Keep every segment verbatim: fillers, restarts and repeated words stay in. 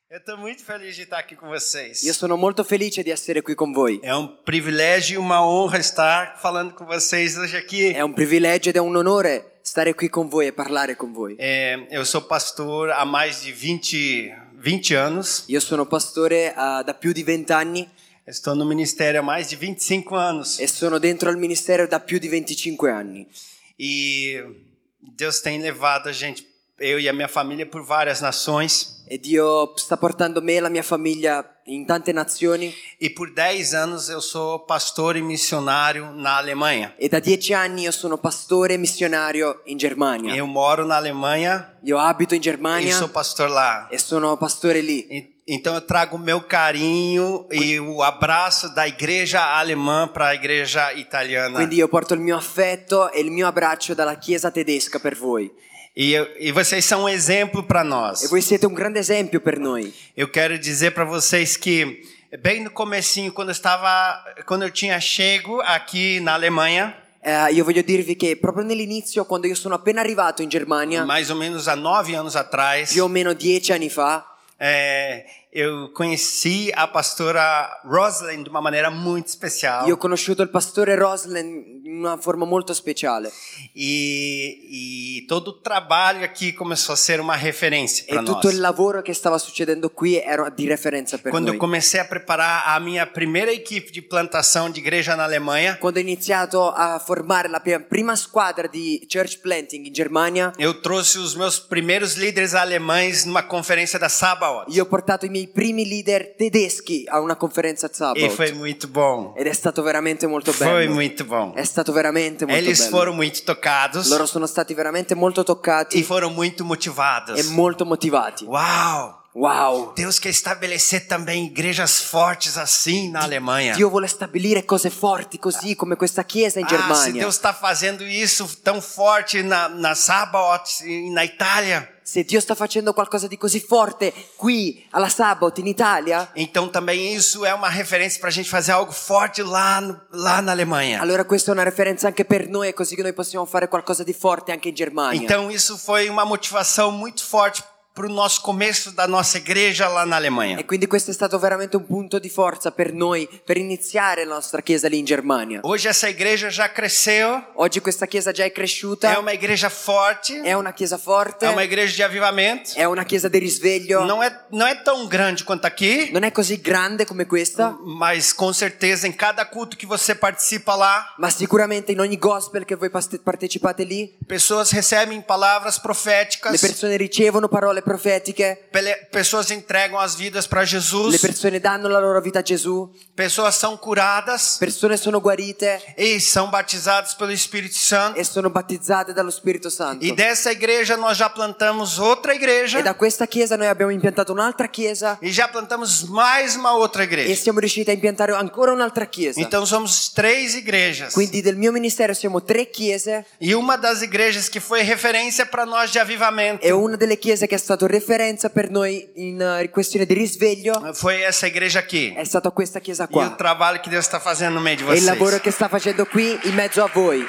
Eu estou muito feliz de estar aqui com vocês. Io sono molto felice di essere qui con voi. É um privilégio e uma honra estar falando com vocês hoje aqui. È un privilegio ed è un onore stare qui con voi e parlare con voi. É, eu sou pastor há mais de vinte, vinte anos. Io sono pastore uh, da più di vent'anni Estou no ministério há mais de vinte e cinco anos. e sono dentro al ministero da più di venticinque anni. E Deus tem levado a gente, eu e a minha família, por várias nações. E Dio sta portando me e la mia famiglia in tante nazioni. E por dez anos eu sou pastor e missionário na Alemanha. E da dieci anni io sono pastore e missionario in Germania. Eu moro na Alemanha Io abito in e Germania sou pastor lá. e sono pastore lì. E- Então eu trago o meu carinho e o abraço da igreja alemã para a igreja italiana. Quindi io porto il mio affetto e il mio abbraccio dalla chiesa tedesca per voi. E, eu, e vocês são um exemplo para nós. E voi siete un grande esempio per noi. Eu quero dizer para vocês que bem no comecinho, quando eu estava, quando eu tinha chego aqui na Alemanha, Eh, io voglio dirvi che proprio nell'inizio, quando io sono appena arrivato in Germania, mais ou menos há nove anos atrás, più o meno dieci anni fa, é, eu conheci a pastora Rosalind de uma maneira muito especial. io ho conosciuto il pastore Roslen in una forma molto speciale. E, e todo o trabalho aqui começou a ser uma referência para E nós. tutto il lavoro che stava succedendo qui era di referenza per Quando noi. eu comecei a preparar a minha primeira equipe de plantação de igreja na Alemanha, Quando ho iniziato a formare la prima- prima squadra di church planting in Germania, eu trouxe os meus primeiros líderes alemães numa conferência da Sabaoth. io ho portato i miei primi leader tedeschi a una conferenza E Sabbath. foi muito bom. Ed è stato veramente molto Foi bello. muito bom. È stato veramente molto Eles bello. foram muito tocados Loro sono stati veramente molto e toccati foram muito motivados. e molto motivati. Uau! Wow! Deus quer estabelecer também igrejas fortes assim na Alemanha. Dio vuole stabilire cose forti così come questa chiesa in Ah, se Germania. Deus está fazendo isso tão forte na, na Sabaoth e na Itália, Se Dio sta facendo qualcosa di così forte qui alla Sabbath in Italia, então também isso é uma referência para a gente fazer algo forte lá, no, lá na Alemanha. allora questa è una referenza anche per noi, così che noi possiamo fare qualcosa di forte anche in Germania. Então isso foi uma motivação muito forte para o nosso começo da nossa igreja lá na Alemanha. E quindi questo è stato veramente un punto di forza per noi, per iniziare la nostra chiesa lì in Germania. Hoje essa igreja já cresceu, Oggi questa chiesa già è cresciuta, é uma igreja forte, è una chiesa forte, é uma igreja de avivamento. è una chiesa di risveglio. Não é, não é tão grande quanto aqui, Non è così grande come questa, mas com certeza em cada culto que você participa lá, ma sicuramente in ogni gospel che voi paste- partecipate lì, pessoas recebem palavras le proféticas, persone ricevono parole profetiche, pele- pessoas entregam as vidas para le Jesus, persone danno la loro vita a Gesù, pessoas são curadas persone sono guarite e são batizadas pelo Espírito Santo. e sono battezzate dallo Spirito Santo. E dessa igreja nós já plantamos outra igreja E da questa chiesa noi abbiamo impiantato un'altra chiesa e já plantamos mais uma outra e igreja. siamo riusciti a impiantare ancora un'altra chiesa. Então somos três igrejas. Quindi del mio ministero siamo tre chiese E uma das igrejas que foi referência para nós de avivamento e una delle chiese che è stato referenza per noi in uh, questione di risveglio foi essa igreja aqui. è stata questa chiesa E o qua. trabalho que Deus está fazendo no meio de E il vocês. lavoro che sta facendo qui in mezzo a voi.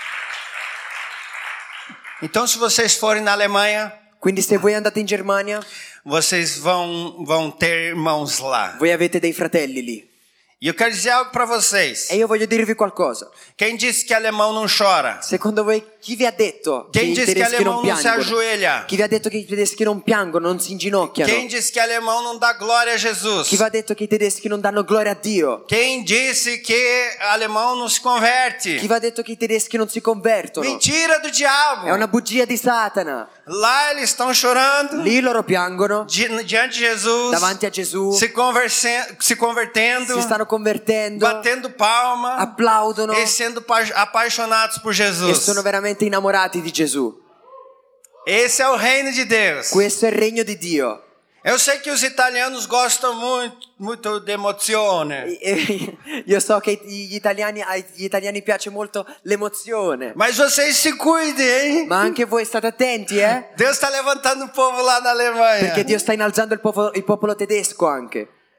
Então se vocês forem na Alemanha, Quindi se voi andate in Germania, vocês vão, vão ter irmãos lá. voi avete dei fratelli lì. E eu quero dizer algo para vocês. E io voglio dirvi qualcosa. Quem disse que alemão não chora? Secondo voi chi vi ha detto che Quem i disse que tedeschi non alemão não se piangono? ajoelha? Chi vi ha detto che i tedeschi non piangono, non si inginocchiano? Quem disse que alemão não dá glória a Jesus? Chi vi ha detto che i tedeschi non danno gloria a Dio? Quem disse que alemão não se converte? Chi vi ha detto che i tedeschi non si convertono? Mentira do diabo. È una bugia di Satana. Lá eles estão chorando Lì loro piangono di- diante de Jesus, davanti a Gesù, se, converse- se convertendo, si stanno convertendo, batendo palma applaudono e sendo pa- apaixonados por e Jesus. sono veramente innamorati di Gesù. Esse é o reino de Deus. Questo è il regno di Dio. Eu sei que os italianos gostam muito, muito de emozione, E- e- Io so che gli italiani, agli italiani piace molto l'emozione, mas vocês se cuidem, hein? ma anche voi state attenti, eh? Deus está levantando um povo lá na Alemanha. Perché Dio sta innalzando il popolo, il popolo tedesco anche.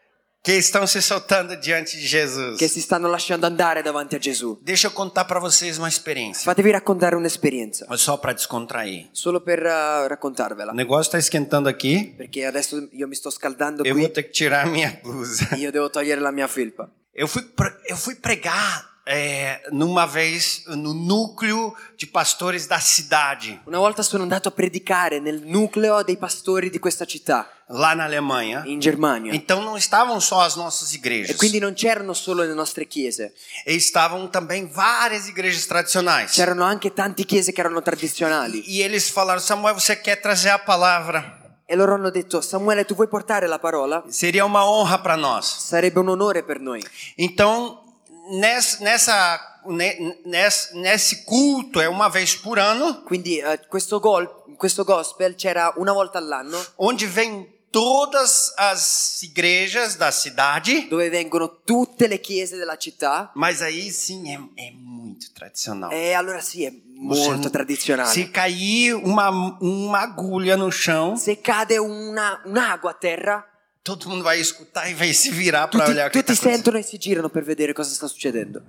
que estão se soltando diante de Jesus. che si stanno lasciando andare davanti a Gesù. Deixa eu contar para vocês uma experiência, Fatevi raccontare un'esperienza, mas só para descontrair. solo per uh, raccontarvela, O negócio está esquentando aqui. perché adesso io mi sto scaldando Eu vou qui, ter que tirar a minha blusa. io devo togliere la mia felpa. Eu fui, pre- eu fui pregar é, numa vez no núcleo de pastores da cidade, Una volta sono andato a predicare nel nucleo dei pastori di questa città, lá na Alemanha. in Germania. Então não estavam só as nossas E igrejas. quindi non c'erano solo le nostre chiese, E estavam também várias igrejas tradicionais. c'erano anche tante chiese che erano tradizionali. E eles falaram: Samuel, você quer trazer a palavra? E loro hanno detto: Samuele, tu vuoi portare la parola? Seria uma honra para nós. Sarebbe un onore per noi. Então, nessa, nessa, ne- nesse, nesse culto, é uma vez por ano, Quindi eh, questo, gol, questo gospel c'era una volta all'anno, onde vem todas as igrejas da cidade. dove vengono tutte le chiese della città. Mas aí sim é, é muito tradicional. E allora sì, è Você molto não- tradizionale. Se cair uma, uma agulha no chão, Se cade una, un'agua a terra, todo mundo vai escutar e vai se virar para tutti, olhar o que tutti está acontecendo. sentono e si girano per vedere cosa sta succedendo.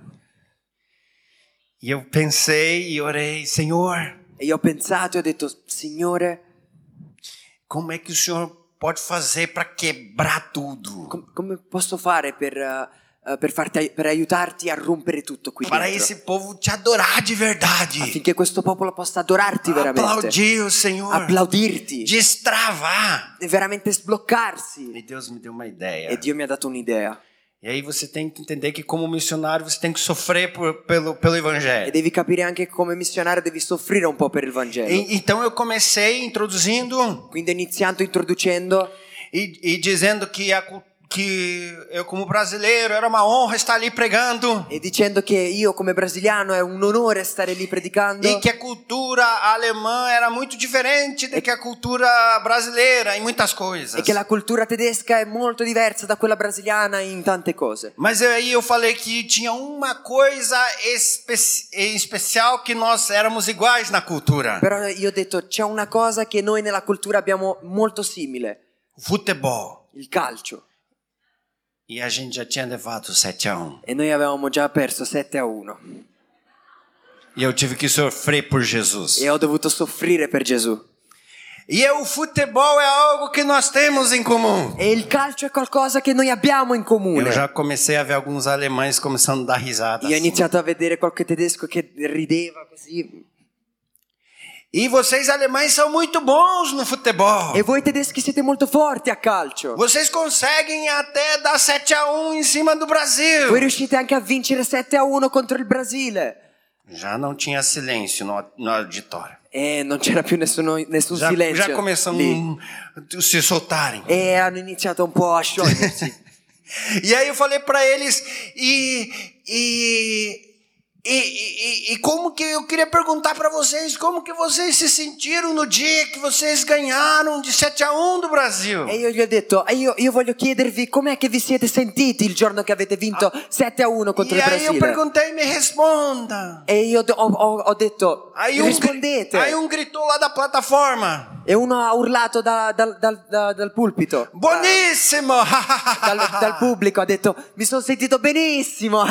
E eu pensei e orei: Senhor, E io ho pensato e ho detto: Signore, como é que o Senhor pode fazer para quebrar tudo? com- come posso fare per, eh, eh, per, farti, per aiutarti a rompere tutto qui Para dentro? esse povo te adorar de verdade. Affinché questo popolo possa adorarti veramente, Aplaudir o Senhor. applaudirti, Destravar. e veramente sbloccarsi. E Deus me deu uma ideia. E Dio mi ha dato un'idea. E aí você tem que entender que como missionário você tem que sofrer por, pelo, pelo E evangelho. devi capire anche che come missionario devi soffrire un po' per il Vangelo. E, então eu comecei introduzindo Quindi ho iniziato introducendo e, e dizendo que, a, cu- que eu como brasileiro era uma honra estar ali pregando. e dicendo che io come brasiliano è un onore stare lì predicando, E que a cultura alemã era muito diferente do que a cultura brasileira em muitas coisas. e che la cultura tedesca è molto diversa da quella brasiliana in tante cose. Mas aí eu falei que tinha uma coisa espe- em especial que nós éramos iguais na cultura. Però io ho detto: c'è una cosa che noi nella cultura abbiamo molto simile, Futebol. il calcio. E a gente já tinha levado sete a um. E noi avevamo già perso sette a uno. E eu tive que sofrer por Jesus. E ho dovuto soffrire per Gesù. E o futebol é algo que nós temos em comum. E il calcio è qualcosa che noi abbiamo in comune. Eu já comecei a ver alguns alemães começando a dar risada. Io ho assim. iniziato a vedere qualche tedesco che rideva così. E vocês alemães são muito bons no futebol. E voi tedeschi siete molto forti a calcio. Vocês conseguem até dar sete a um em cima do Brasil. Voi riuscite anche a vincere sette a uno contro il Brasile. Já não tinha silêncio no, no auditório. E non c'era più nessuno, nessun Já, silenzio já começam lì. a se soltarem. E hanno iniziato un po' a sciogliersi. E aí eu falei para eles, e, e, e, e, e como que eu queria perguntar para vocês, como que vocês se sentiram no dia que vocês ganharam de sete a um do Brasil? E io gli ho detto: e io, io voglio chiedervi com'è che vi siete sentiti il giorno che avete vinto sette a uno contro E il aí eu Brasile. perguntei, me responda. E io ho, ho- ho detto: Aí um, rispondete. aí um gritou lá da plataforma, E uno ha urlato da- dal- dal- da- dal pulpito, buonissimo! dal, dal pubblico, ha detto: mi sono sentito benissimo.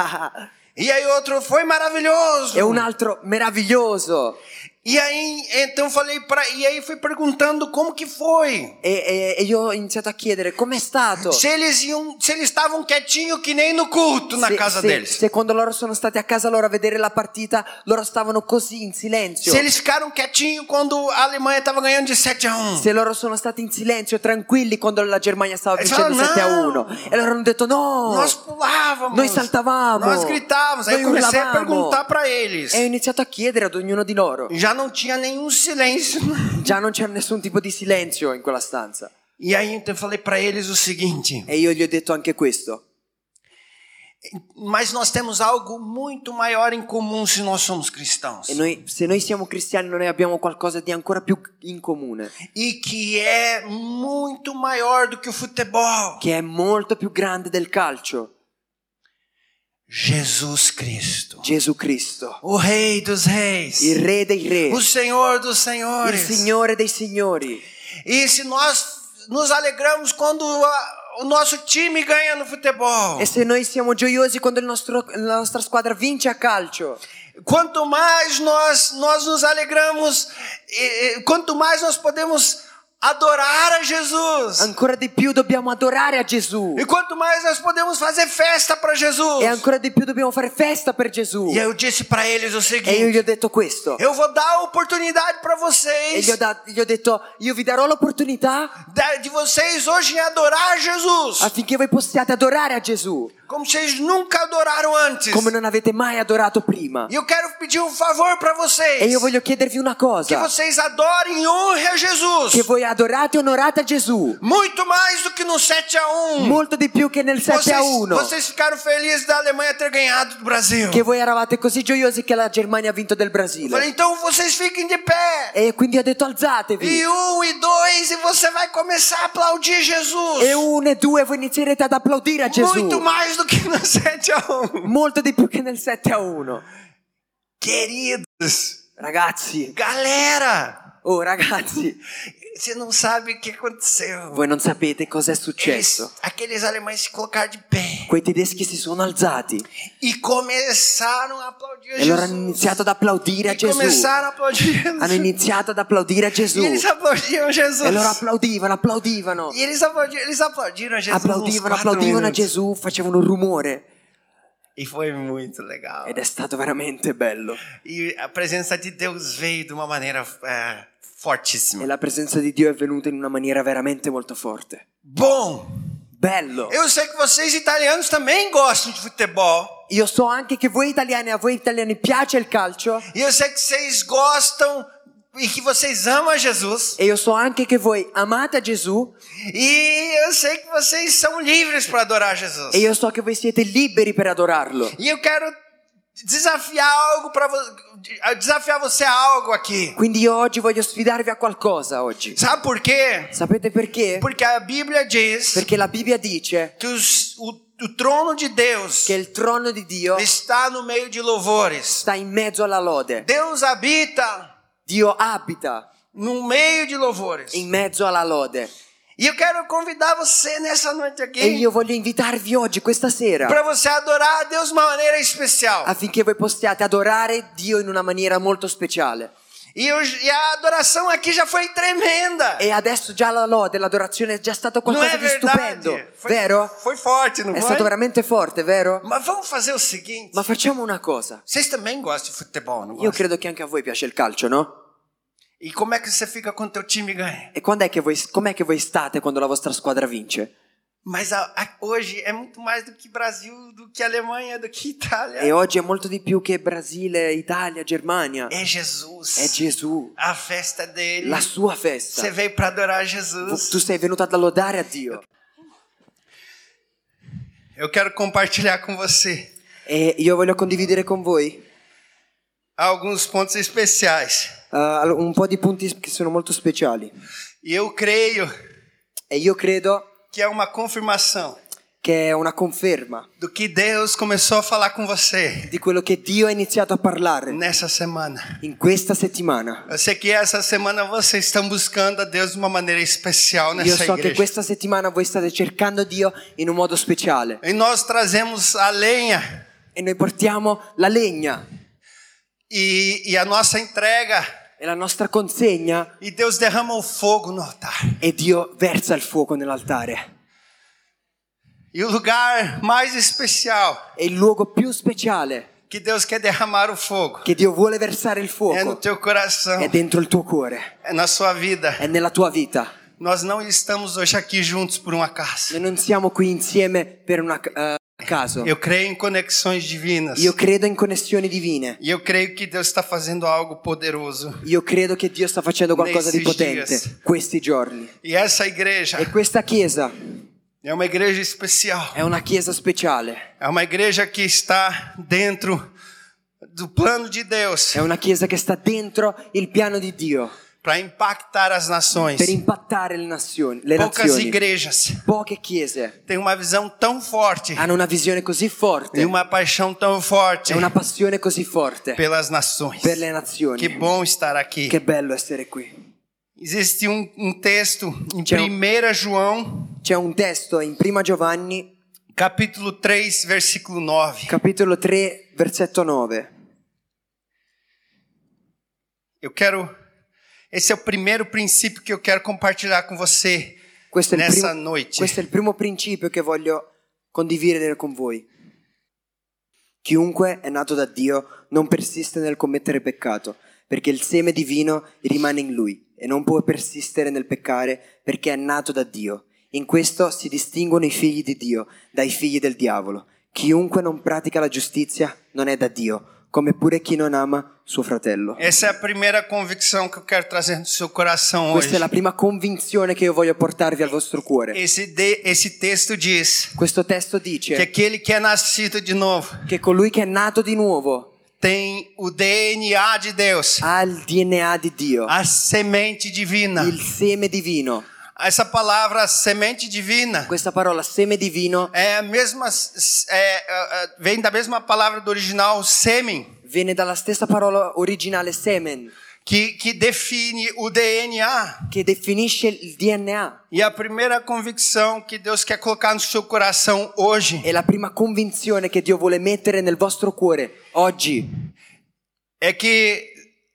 E aí outro, foi maravilhoso. E un altro: meraviglioso. E aí, então eu falei para, e aí fui perguntando como que foi. E, e- e io ho iniziato a chiedere com'è stato. Se eles iam, se eles estavam quietinho que nem no culto na Se, casa se- deles. se quando loro sono stati a casa loro a vedere la partita, loro stavano così in silenzio. Se eles ficaram quietinho quando a Alemanha estava ganhando de sete a um. Se loro sono stati in silenzio, tranquilli quando la Germania stava E vincendo fanno, sette a "No." uno. E loro hanno detto: no. Nós pulávamos. Noi saltavamo. Nós gritávamos. Aí Noi eu comecei a urlavamo. perguntar para eles. E ho iniziato a chiedere ad ognuno di loro. Já não tinha nenhum silêncio. Già non c'era nessun tipo di silenzio in quella stanza. E aí então eu falei para eles o seguinte: E io gli ho detto anche questo. mas nós temos algo muito maior em comum se nós somos cristãos. E noi, se noi siamo cristiani, noi abbiamo qualcosa di ancora più in comune, E que é muito maior do que o futebol. che è molto più grande del calcio. Jesus Cristo. Gesù Cristo, O Rei dos Reis. il Re dei Re, O Senhor dos il Senhores. Signore dei Signori. E se nós nos alegramos quando a- o nosso time ganha no futebol. E se noi siamo gioiosi quando il nostro, la nostra squadra vince a calcio. Quanto mais nós, nós nos alegramos, e, e, quanto mais nós podemos adorar a Jesus. Ancora di più dobbiamo adorare a Gesù. E quanto mais nós podemos fazer festa para Jesus. E ancora di più dobbiamo fare festa per Gesù. E eu disse para eles o seguinte. E io gli ho detto questo. Eu vou dar a oportunidade para E vocês. gli ho, da- gli ho detto, io vi darò l'opportunità de, de vocês hoje adorar Jesus. affinché voi possiate adorare a Gesù Como vocês nunca adoraram antes. come non avete mai adorato prima. E eu quero pedir um favor para vocês. E io voglio chiedervi una Que cosa. vocês adorem e honrem a Jesus. Che voi adorate e onorate a Gesù. Muito mais do que no sete a um. Molto di più che nel sette a Vocês, uno. vocês ficaram felizes da Alemanha ter ganhado do Brasil. Che voi eravate così gioiosi che la Germania ha vinto del Eu falei, Brasile. então vocês fiquem de pé. E quindi ho detto alzatevi. E um e dois, e você vai começar a aplaudir Jesus. E uno e due voi inizierete ad applaudire a Gesù. Muito mais do que no sete a um. Molto di più che nel sette a uno. Queridos, Ragazzi, galera, oh ragazzi, você não sabe o que aconteceu. voi non sapete cosa è Eles, successo. aqueles alemães se colocaram de pé Quei tedeschi si sono alzati e começaram a aplaudir a e allora hanno Jesus. iniziato ad applaudire a E Gesù. começaram a aplaudir Jesus. Hanno iniziato ad applaudire a Gesù. E eles aplaudiam Jesus. E loro applaudivano, applaudivano. E eles aplaudiram, eles aplaudiram a Jesus. Applaudivano, uns quatro applaudivano a minutos. Gesù, facevano un rumore. E foi muito legal. Ed è stato veramente bello. E a presença de Deus veio de uma maneira é, fortíssima. E la presenza di Dio è venuta in una maniera veramente molto forte. Bom, Bello. eu sei que vocês italianos também gostam de futebol. Io so anche che voi italiani, a voi italiani piace il calcio. E eu sei que vocês gostam e que vocês amam a Jesus. E io so anche che voi amate Gesù. E eu sei que vocês são livres para adorar Jesus. E io so che voi siete liberi per adorarlo. E eu quero desafiar algo para desafiar você a algo aqui. Quindi io oggi voglio sfidarvi a qualcosa oggi. Sabe por quê? Sapete perché? Porque a Bíblia diz Perché la Bibbia dice que os, o, o trono de Deus che il trono di Dio está no meio de louvores. sta in mezzo alla lode. Deus habita Dio abita no meio de louvores. in mezzo alla lode. E eu quero convidar você nessa noite aqui E io voglio invitarvi oggi, questa sera, para você adorar a Deus de uma maneira especial. affinché voi possiate adorare Dio in una maniera molto speciale. E, eu, e a adoração aqui já foi tremenda. E adesso già la lode, l'adorazione è già stato Não qualcosa é di stupendo, verdade? Foi, vero? foi forte, não È foi? stato veramente forte, vero? Mas vamos fazer o seguinte. Ma facciamo una cosa. Vocês também gostam de futebol, não Io gostam? credo che anche a voi piace il calcio, no? E como é que você fica quando teu time ganha? E quando è che voi, com'è che voi state quando la vostra squadra vince? Mas a, a, hoje é muito mais do que Brasil, do que Alemanha, do que Itália. E oggi è molto di più che Brasile, Italia, Germania. É Jesus. È Gesù, A festa dele. la sua festa. Você veio para adorar Jesus. Tu sei venuto ad lodare a Dio. Eu quero compartilhar com você E io voglio condividere con voi alguns pontos especiais. uh, un po' di punti che sono molto speciali. E eu creio E io credo que é uma confirmação che è una conferma do que Deus começou a falar com você di quello che Dio ha iniziato a parlare nessa semana. in questa settimana. Eu sei que essa semana vocês estão buscando a Deus de uma maneira especial Io nessa so che igreja. questa settimana voi state cercando Dio in un modo speciale. E nós trazemos a lenha E noi portiamo la legna e, e a nossa entrega. e la nostra consegna E Deus derrama o fogo no altar. e Dio versa il fuoco nell'altare. E o lugar mais especial E il luogo più speciale que Deus quer derramar o fogo che Dio vuole versare il é no fuoco teu coração, è dentro il tuo cuore, é na sua vida. è nella tua vita. Nós não estamos hoje aqui juntos por um acaso. Noi non siamo qui insieme per una uh, caso. Eu creio em conexões divinas. Io credo in connessioni divine. E eu creio que Deus está fazendo algo poderoso. Io credo che Dio sta facendo qualcosa di Nesses potente dias. questi giorni. E essa igreja E questa chiesa é uma igreja especial. è una chiesa speciale. É uma igreja que está dentro do plano de Deus È una chiesa che sta dentro il piano di Dio para impactar as nações. per impattare le nazioni. Le Poucas nazioni. igrejas Poche chiese têm uma visão tão forte hanno una visione così forte e uma paixão tão forte e una passione così forte pelas nações. per le nazioni. Que bom estar aqui. Che bello essere qui. Existe um, um texto em C'è un- primeira João C'è un testo in Prima Giovanni, capítulo três, versículo nove. capitolo tre, versetto nove. Eu quero, esse é o primeiro princípio que eu quero compartilhar com você Questo è, il nessa primo, noite. questo è il primo principio che voglio condividere con voi. Chiunque è nato da Dio non persiste nel commettere peccato, perché il seme divino rimane in lui e non può persistere nel peccare perché è nato da Dio. In questo si distinguono i figli di Dio dai figli del diavolo. Chiunque non pratica la giustizia non è da Dio, come pure chi non ama suo fratello. Essa é a primeira convicção que eu quero trazer no seu coração Questa hoje. è la prima convinzione che io voglio portarvi al vostro cuore. Esse, de, esse texto diz Questo testo que dice aquele que é nascido de novo che colui che è nato di nuovo tem o D N A de Deus, ha il D N A di Dio, a semente divina. il seme divino. Essa palavra semente divina Questa parola seme divino é a mesma, é, é, vem da mesma palavra do original semen, viene dalla stessa parola originale semen, que, que define o D N A. che definisce il D N A. E a primeira convicção que Deus quer colocar no seu coração hoje E la prima convinzione che Dio vuole mettere nel vostro cuore oggi é que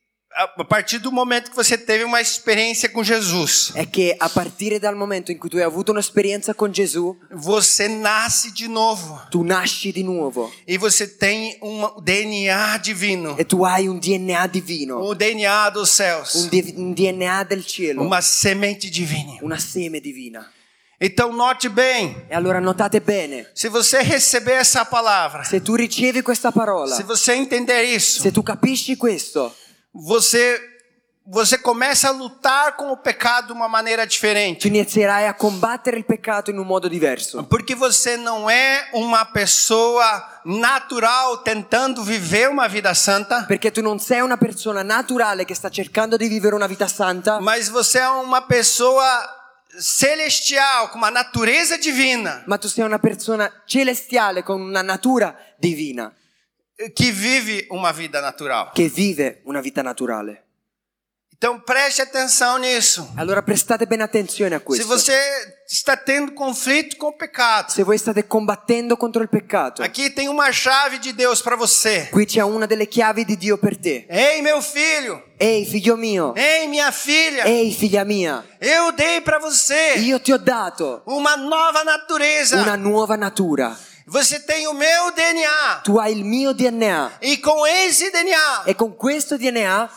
a partir do momento que você teve uma experiência com Jesus, è che a partire dal momento in cui tu hai avuto un'esperienza con Gesù, você nasce de novo tu nasci di nuovo e você tem um D N A divino, e tu hai un D N A divino, o D N A dos céus, un, di- un D N A del cielo, uma semente divina. una seme divina. Então note bem, E allora notate bene, se você receber essa palavra, se tu ricevi questa parola, se você entender isso, se tu capisci questo, você você começa a lutar com o pecado de uma maneira tu diferente. inizierai a combattere il peccato in un modo diverso. Porque você não é uma pessoa natural tentando viver uma vida santa, Perché tu non sei una persona naturale che sta cercando di vivere una vita santa, mas você é uma pessoa celestial, com uma natureza divina, ma tu sei una persona celestiale con una natura divina que vive uma vida natural. che vive una vita naturale. Então preste atenção nisso. Allora prestate bene attenzione a Se questo. você está tendo conflito com o pecado, Se voi state combattendo contro il peccato, aqui tem uma chave de Deus para você. qui c'è una delle chiavi di Dio per te. Ei, meu filho, Ehi figlio mio, ei, minha filha, ehi figlia mia, eu dei para você io ti ho dato uma nova natureza. una nuova natura. Você tem o meu D N A. Tu hai il mio D N A E com esse D N A, e con questo D N A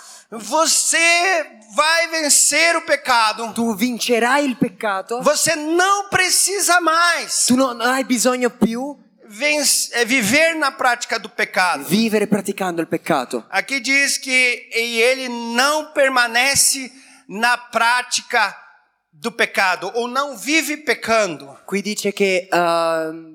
você vai vencer o pecado. tu vincerai il peccato. Você não precisa mais Tu non hai bisogno più vencer, é, viver na prática do pecado. vivere praticando il peccato. Aqui diz que e ele não permanece na prática do pecado, ou não vive pecando. Qui dice che uh,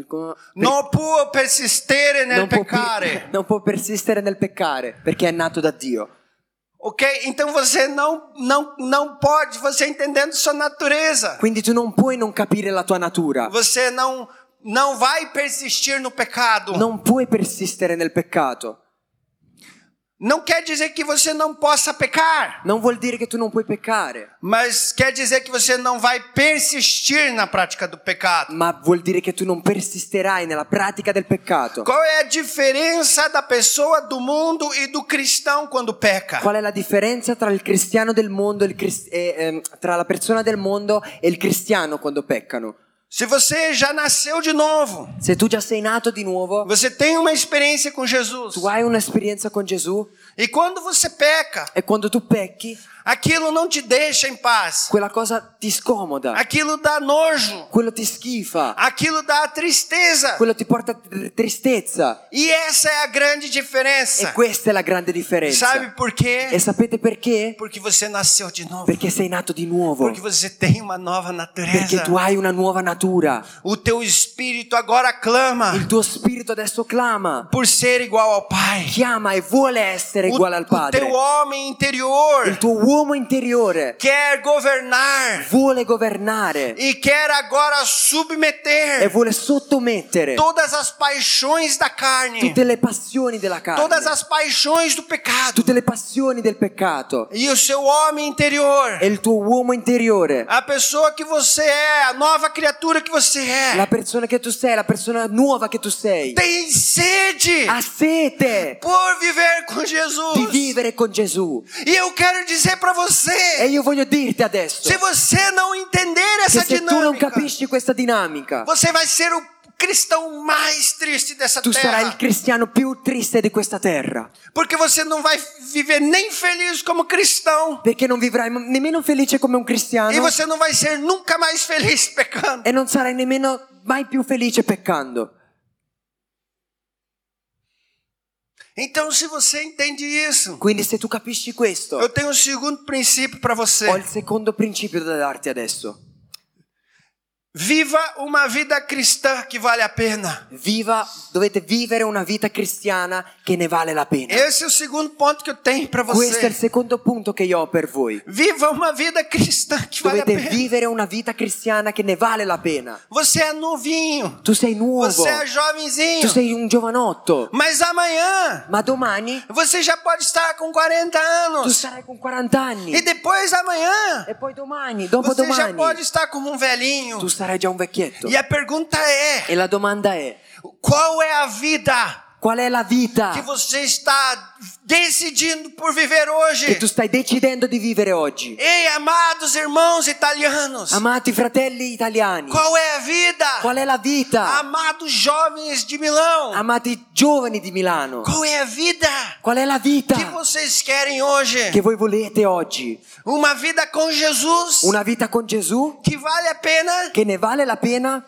Non può persistere nel non, può, peccare. non può persistere nel peccare perché è nato da Dio. Ok? Então você não, não, não pode, você entendendo sua natureza. Quindi tu non puoi non capire la tua natura. Você não, não vai persistir no pecado. Non puoi persistere nel peccato. Não quer dizer que você não possa pecar, Non vuol dire che tu non puoi peccare, mas quer dizer que você não vai persistir na prática do pecado. ma vuol dire che tu non persisterai nella pratica del peccato. Qual é a diferença da pessoa do mundo e do cristão quando peca? Qual è la differenza tra il cristiano del mondo e il cris- e, ehm, tra la persona del mondo e il cristiano quando peccano? Se você já nasceu de novo, Se tu già sei nato di nuovo, você tem uma experiência com Jesus, tu hai un'esperienza con Gesù e quando você peca, e quando tu pecchi, aquilo não te deixa em paz, quella cosa ti scomoda, aquilo dá nojo, quello ti schifa, aquilo dá tristeza. quello ti porta tr- tristezza. E essa é a grande E diferença. questa è la grande differenza. Sabe por quê? E sapete perché? Porque você nasceu de novo. Perché sei nato di nuovo. Porque você tem uma nova Perché natureza. tu hai una nuova Porque natura. O teu espírito agora clama Il tuo spirito adesso clama, por ser igual ao Pai. chiama e vuole essere O, uguale al o Padre. teu homem interior Il tuo uomo interiore quer governar vuole governare e quer agora e submeter vuole sottomettere todas as paixões da carne, tutte le passioni della carne, todas as paixões do pecado. tutte le passioni del peccato. E o seu homem interior, E il tuo uomo interiore, a pessoa que você é, a nova criatura que você la é, persona che tu sei, la persona nuova che tu sei, tem sede ha sete por viver com di Jesus. vivere con Gesù. E eu quero dizer para E você, io voglio dirti adesso se você não entender che essa se tu non dinâmica, capisci questa dinamica, você vai ser o cristão mais triste dessa tu sarai il terra. cristiano più triste di questa terra, Porque você não vai viver nem feliz como cristão. perché non vivrai nemmeno felice come un E cristiano você não vai ser nunca mais feliz pecando. e non sarai nemmeno mai più felice peccando. Então, se você entende isso, Quindi se tu capisci questo, eu tenho um segundo princípio para você. ho il secondo principio da darti adesso. Viva uma vida cristã que vale a pena. Viva, dovete vivere una vita cristiana che ne vale la pena. Esse é o segundo ponto que eu tenho para Questo è il você. secondo punto che io ho per voi. Viva uma vida cristã que vale a Dovete pena. vivere una vita cristiana che ne vale la pena. Você é novinho. Tu sei nuovo, Você é tu jovenzinho. sei un giovanotto, Mas amanhã ma domani você já pode estar com quarenta tu anos. sarai con quaranta anni E depois amanhã e poi domani, dopo você já domani, pode estar como um velhinho. tu sarai già un vecchietto. E a pergunta é: E la domanda è, qual é a vida qual è la vita que você está decidindo por viver che hoje? tu stai decidendo di vivere oggi? Ei, amados irmãos italianos, Amati fratelli italiani, qual é a vida? qual è la vita? Amados jovens de Milão, Amati giovani di Milano, qual é a vida qual è la vita que vocês querem hoje? che voi volete oggi? Uma vida com Jesus Una vita con Gesù que vale a pena che ne vale la pena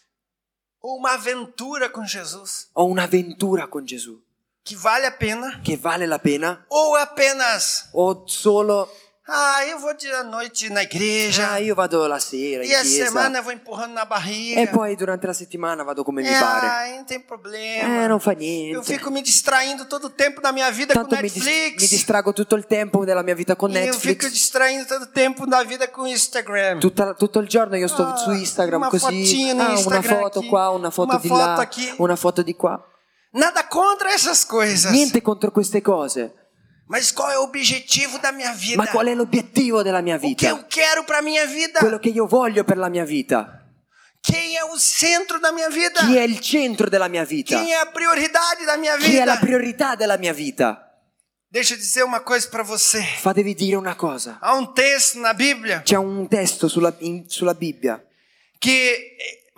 ou uma aventura com Jesus o un'avventura con Gesù que vale a pena che vale la pena ou apenas o solo ah, eu vou dia à noite na igreja ah, io vado la sera in e a chiesa semana eu vou empurrando na barriga. e poi durante la settimana vado come mi É, pare. ai, não tem problema. Eh, non fa Eu niente. fico me distraindo todo o tempo da minha vida Tanto com mi, dis- Netflix. mi distrago tutto il tempo della mia vita con E eu fico Netflix. distraindo todo o tempo da vida com Instagram. Tutta- tutto il giorno io sto Ah, su Instagram una così, fotinha no ah, una Instagram foto aqui, qua, una foto una di foto là, aqui. una foto di qua. Nada contra essas coisas. Niente contro queste cose, Mas qual é o objetivo da minha vida? ma qual è l'obiettivo della mia O que vita? eu quero para minha vida? Quello che io voglio per la mia vita. Quem é o centro da minha vida? Chi è il centro della mia vita? Quem é a prioridade da minha Chi è la vida? priorità della mia vita? Deixa eu dizer uma coisa para você. Fatevi dire una cosa. Há um texto na Bíblia C'è un testo sulla, in- sulla Bibbia que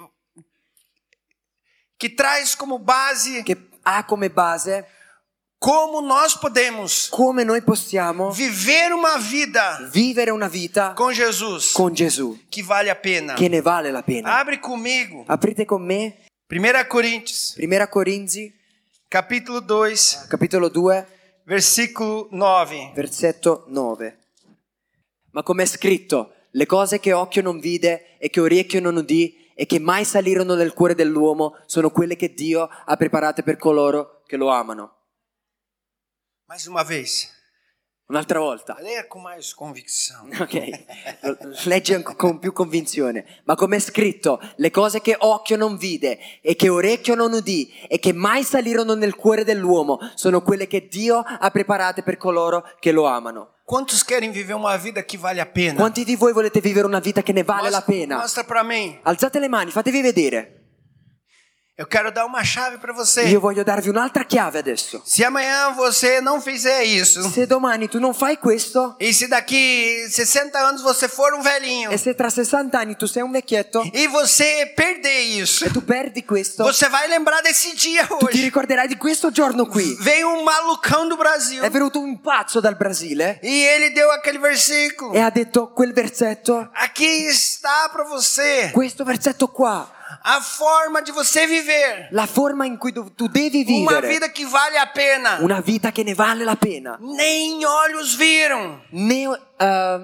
que traz como base che ha come base como nós podemos come noi possiamo viver uma vida vivere una vita com Jesus con Gesù que vale a pena. che ne vale la pena. Abre comigo. Aprite con me primeira Coríntios, Prima Corinzi, capítulo dois, capitolo due, versículo nove. versetto nove. Ma come è scritto, le cose che occhio non vide e che orecchio non udì e che mai salirono nel cuore dell'uomo sono quelle che Dio ha preparate per coloro che lo amano. Mais uma vez. Un'altra volta. Leia com mais convicção. Ok, leggi anche con più convinzione. Ma come è scritto, le cose che occhio non vide e che orecchio non udì e che mai salirono nel cuore dell'uomo sono quelle che Dio ha preparate per coloro che lo amano. Quantos querem viver uma vida que vale a pena? Quanti di voi volete vivere una vita che ne vale la Mostra, pena? mostra para mim. Alzate le mani, fatevi vedere. Eu quero dar uma chave para você. Io voglio darvi un'altra chiave adesso. Se amanhã você não fizer isso, Se domani tu non fai questo e se daqui sessenta anos você for um velhinho, e se tra sessanta anni tu sei un vecchietto e você perder isso, e tu perdi questo, você vai lembrar desse dia tu ti hoje. ricorderai di questo giorno qui. Veio um malucão do Brasil È venuto un pazzo dal Brasile e ele deu aquele versículo. e ha detto quel versetto, Aqui está para você questo versetto qua, a forma de você viver la forma in cui tu, tu devi uma vivere vida que vale a pena. una vita che ne vale la pena. Nem olhos viram, Ne, uh,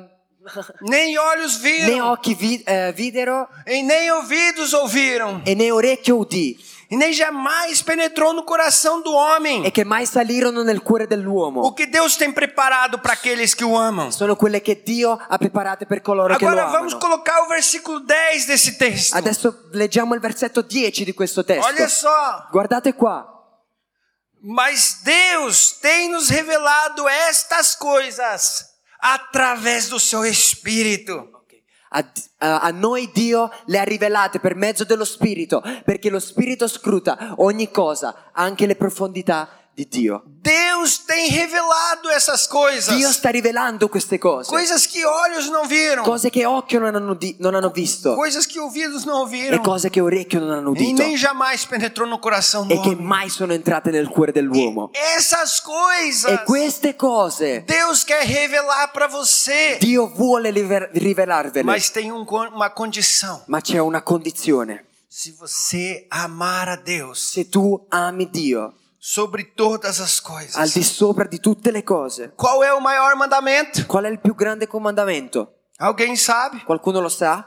nem olhos né viram, occhi vi- eh, videro e nem ouvidos ouviram, e né orecchio udì, e nem jamais penetrou no coração do homem e che mai salirono nel cuore dell'uomo. o que Deus tem preparado para aqueles que o amam. Sono quelle che Dio ha preparate per coloro che lo Agora vamos amano. colocar o versículo dez desse texto. Adesso leggiamo il versetto dieci di questo testo. Olha só. Guardate qua. Mas Deus tem nos revelado estas coisas através do seu Espírito. A, a- a noi Dio le ha rivelate per mezzo dello Spirito, perché lo Spirito scruta ogni cosa, anche le profondità di Dio. Deus tem revelado essas coisas. Dio sta rivelando queste cose, Coisas que olhos não viram. cose che occhio non hanno, di- non hanno visto Coisas que ouvidos não e ouviram. cose che orecchio non hanno E udito nem jamais penetrou no coração do e che homem. mai sono entrate nel cuore dell'uomo. Essas coisas E queste cose Deus quer revelar para você. Dio vuole rive- rivelarvele, Mas tem um, uma condição. ma c'è una condizione: Se você amar a Deus se tu ami Dio sobre todas as al coisas. di sopra di tutte le cose. Qual é o maior mandamento? Qual è il più grande comandamento? Alguém sabe? Qualcuno lo sa?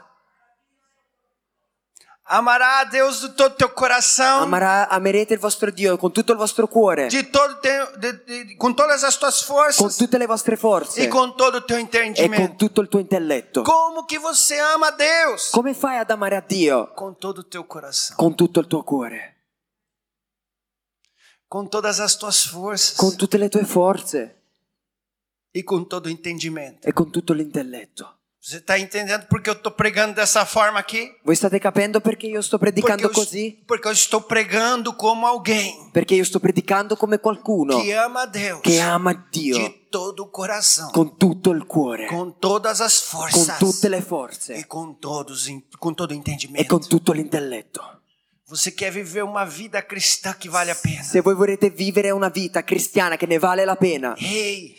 Amará a Deus de todo teu coração, Amarà- amerete il vostro Dio con tutto il vostro cuore, de todo teu, de, de, com todas as tuas con forças tutte le vostre forze e com todo o teu e con entendimento. tutto il tuo intelletto. Como que você ama a Deus? Come fai ad amare a Dio? Com todo o teu coração, Con tutto il tuo cuore, com todas as tuas forças con tutte le tue forze e com todo o entendimento. e con tutto l'intelletto. Você está entendendo porque eu estou pregando dessa forma aqui? Voi state capendo perché io sto Porque predicando eu, così? porque eu estou pregando como alguém Perché io sto predicando come qualcuno que ama a Deus che ama Dio de todo o coração, con tutto il cuore, com todas as con forças tutte le e forze com todos, com todo o e entendimento. con tutto l'intelletto. Você quer viver uma vida cristã que vale a pena? Se voi volete vivere una vita cristiana che ne vale la pena, Ei,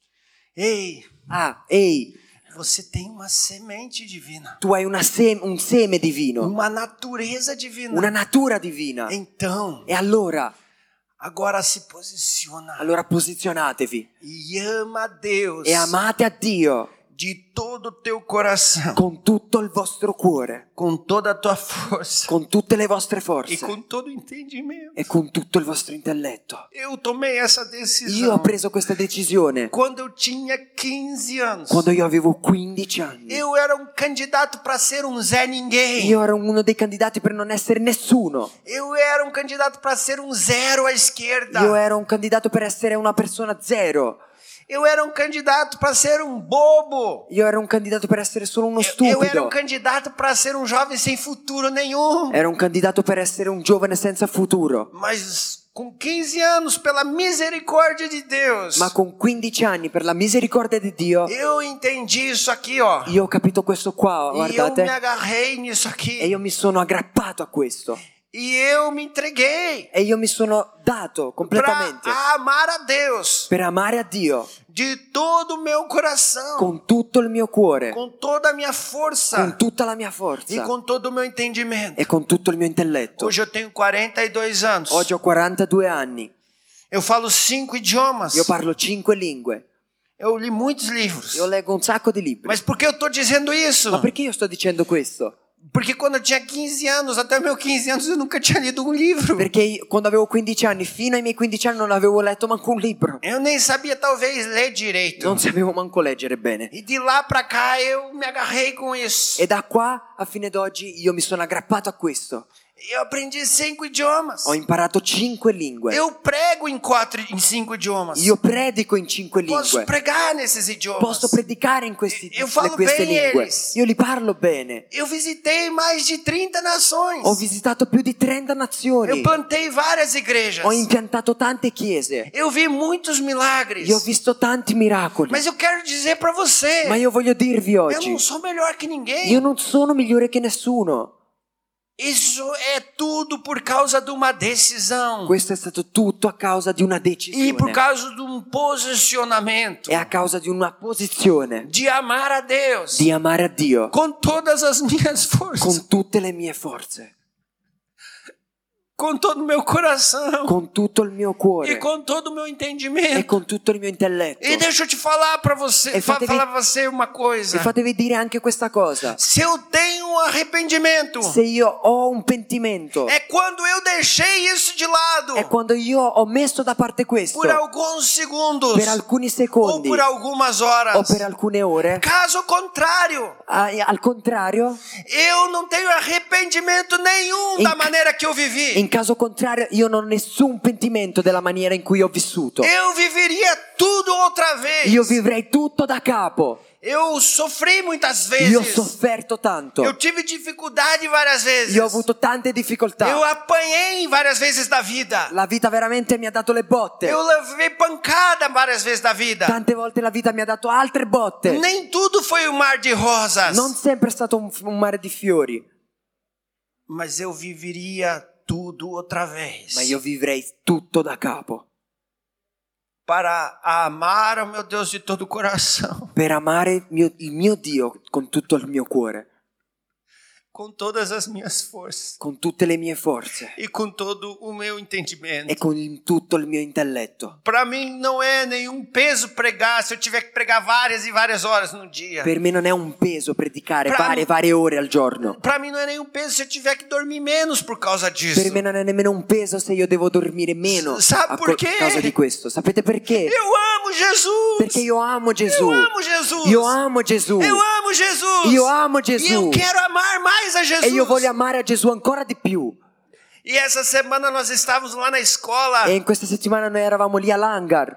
ei, ah, ehi, você tem uma semente divina, tu hai una sem- un seme divino, uma natureza divina. una natura divina. Então, E allora, agora se posiciona allora posizionatevi e ama a Deus e amate a Dio de todo o teu coração, con tutto il vostro cuore, com toda a tua força con tutte le vostre e forze com todo o entendimento. e con tutto il vostro intelletto. Eu tomei essa Io ho decisão preso questa decisione quando eu tinha quinze anos. quando io avevo quindici anni. Eu era um candidato para ser um Zé Ninguém. Io ero uno dei candidati per non essere nessuno. Eu era um candidato para ser um zero à esquerda. Io ero un candidato per essere una persona zero. Eu era um candidato para ser um bobo. Io ero un candidato per essere solo uno Eu, eu era um stupido. candidato para ser um jovem sem futuro nenhum. Ero un candidato per essere un giovane senza futuro. Mas com quinze anos, pela misericórdia de Deus, Ma con quindici anni, per la misericordia di Dio, eu entendi isso aqui, ó. io ho capito questo qua, E eu me guardate. agarrei nisso E aqui. io mi sono aggrappato a questo. E eu me entreguei E io mi sono dato completamente para amar a Deus per amare a Dio de todo o meu coração, con tutto il mio cuore, com toda a minha força con tutta la mia e forza com todo o meu entendimento. e con tutto il mio intelletto. Hoje eu tenho quarenta e dois anos. Oggi ho quarantadue anni. Eu falo cinco idiomas. Io parlo cinque lingue. Eu li muitos livros. Io leggo un sacco di libri. Mas por que eu estou dizendo isso? Ma perché io sto dicendo questo? Porque quando eu tinha quinze anos, até meus quinze anos, eu nunca tinha lido um livro. Perché io, quando avevo quindici anni, fino ai miei quindici anni, non avevo letto manco un libro. Eu nem sabia talvez ler direito. Non sapevo manco leggere bene. E de lá pra cá eu me agarrei com isso. E da qua a fine d'oggi io mi sono aggrappato a questo. Eu aprendi cinco idiomas. Ho imparato cinque lingue. Eu prego em quatro, em cinco idiomas. Io predico in cinque Posso lingue. pregar nesses idiomas. Posso predicare in questi, Io falo le- queste bene lingue. eles. Io li parlo bene. Eu visitei mais de trinta nações. Ho visitato più di trenta Eu nazioni. plantei várias igrejas. Ho impiantato tante chiese. Eu vi muitos milagres. Io ho visto tanti miracoli. Mas eu quero dizer pra você, Ma io voglio dirvi eu oggi, não sou melhor que ninguém. io non sono migliore che nessuno. Isso é tudo por causa de uma decisão. Questo è stato tutto a causa di una E por decisione. causa de um posicionamento È a causa di una posizione de amar a Deus di amare a Dio com todas as minhas forças, con tutte le mie forze, com todo o meu coração con tutto il mio e cuore com todo o meu e entendimento. con tutto il mio intelletto. E deixa eu te falar para você, E fa- fatevi- falar pra você uma coisa. E fatevi dire anche questa cosa. Se eu tenho um arrependimento, Se io ho un pentimento, é quando eu deixei isso de lado è quando io ho messo da parte questo por alguns segundos per alcuni ou secondi por algumas o horas. per alcune ore. Caso contrário, Ah, Al contrario, eu não tenho arrependimento nenhum In da ca- maneira que eu vivi. in caso contrario, io non ho nessun pentimento della maniera in cui ho vissuto. Eu viveria tudo outra vez. Io vivrei tutto da capo. Eu sofri muitas Io ho vezes. sofferto tanto. Eu tive dificuldade várias vezes. Io ho avuto tante Eu difficoltà. apanhei várias vezes da vida. La vita veramente mi ha dato le botte. Eu levei pancada várias vezes da vida. Tante volte la vita mi ha dato altre botte. Nem tudo foi um mar de rosas. Non sempre è stato un, un mare di fiori, Mas eu viveria tudo outra vez. ma io vivrei tutto da capo. Para amar ao meu Deus de todo o coração. Per amare mio- il mio Dio con tutto il mio cuore, Com todas as minhas forças. con tutte le mie forze E com todo o meu e entendimento. con il- tutto il mio intelletto. Para mim não é nenhum peso pregar se eu tiver que pregar várias e várias horas no dia. Per me non è un peso predicare Pra- varie varie ore al giorno. Para mim não é nenhum peso se eu tiver que dormir menos por causa disso. Per me non è nemmeno un peso se io devo dormire meno Sa a co- perché? causa di questo. Sapete perché? Eu amo Jesus. Perché io amo Gesù. Eu amo Jesus. Io amo Gesù. Eu amo Jesus. Io amo E eu Gesù. quero amar mais a Jesus. E io voglio amare a Gesù ancora di più. E essa semana nós estávamos lá na escola. E in questa settimana noi eravamo lì all'hangar.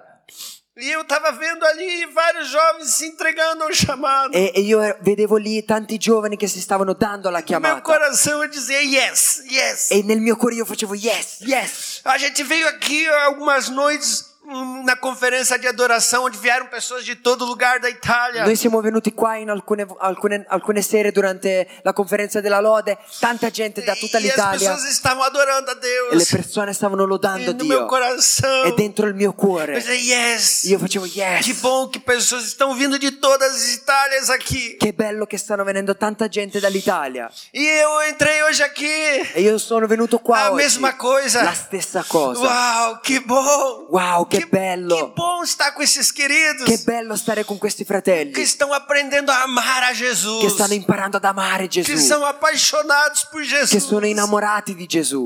E eu estava vendo ali vários jovens se entregando ao chamado. E, e io er- vedevo lì tanti giovani che si stavano dando alla No meu chiamata. coração eu dizia yes, yes. E nel mio cuore io facevo yes, yes. A gente veio aqui algumas noites hum, na conferência de adoração onde vieram pessoas de todo lugar da Itália. Noi siamo venuti qua in alcune, alcune, alcune sere durante la conferenza della lode, tanta gente da tutta E as l'Italia pessoas estavam adorando a e le Deus. persone stavano lodando E no meu Dio. coração. E dentro il mio Eu cuore dizia yes. io facevo Que yes. bom que pessoas estão vindo de todas as Itálias aqui. Che bello che stanno venendo tanta gente dall'Italia. E eu entrei hoje aqui. E io sono venuto qua A oggi. mesma coisa. La stessa cosa. Uau, que bom. Wow, che bello. Que bom estar com esses queridos Che bello stare con questi fratelli que estão aprendendo a amar a Jesus. che stanno imparando ad amare Que Gesù, são apaixonados por che Jesus. sono innamorati di Gesù.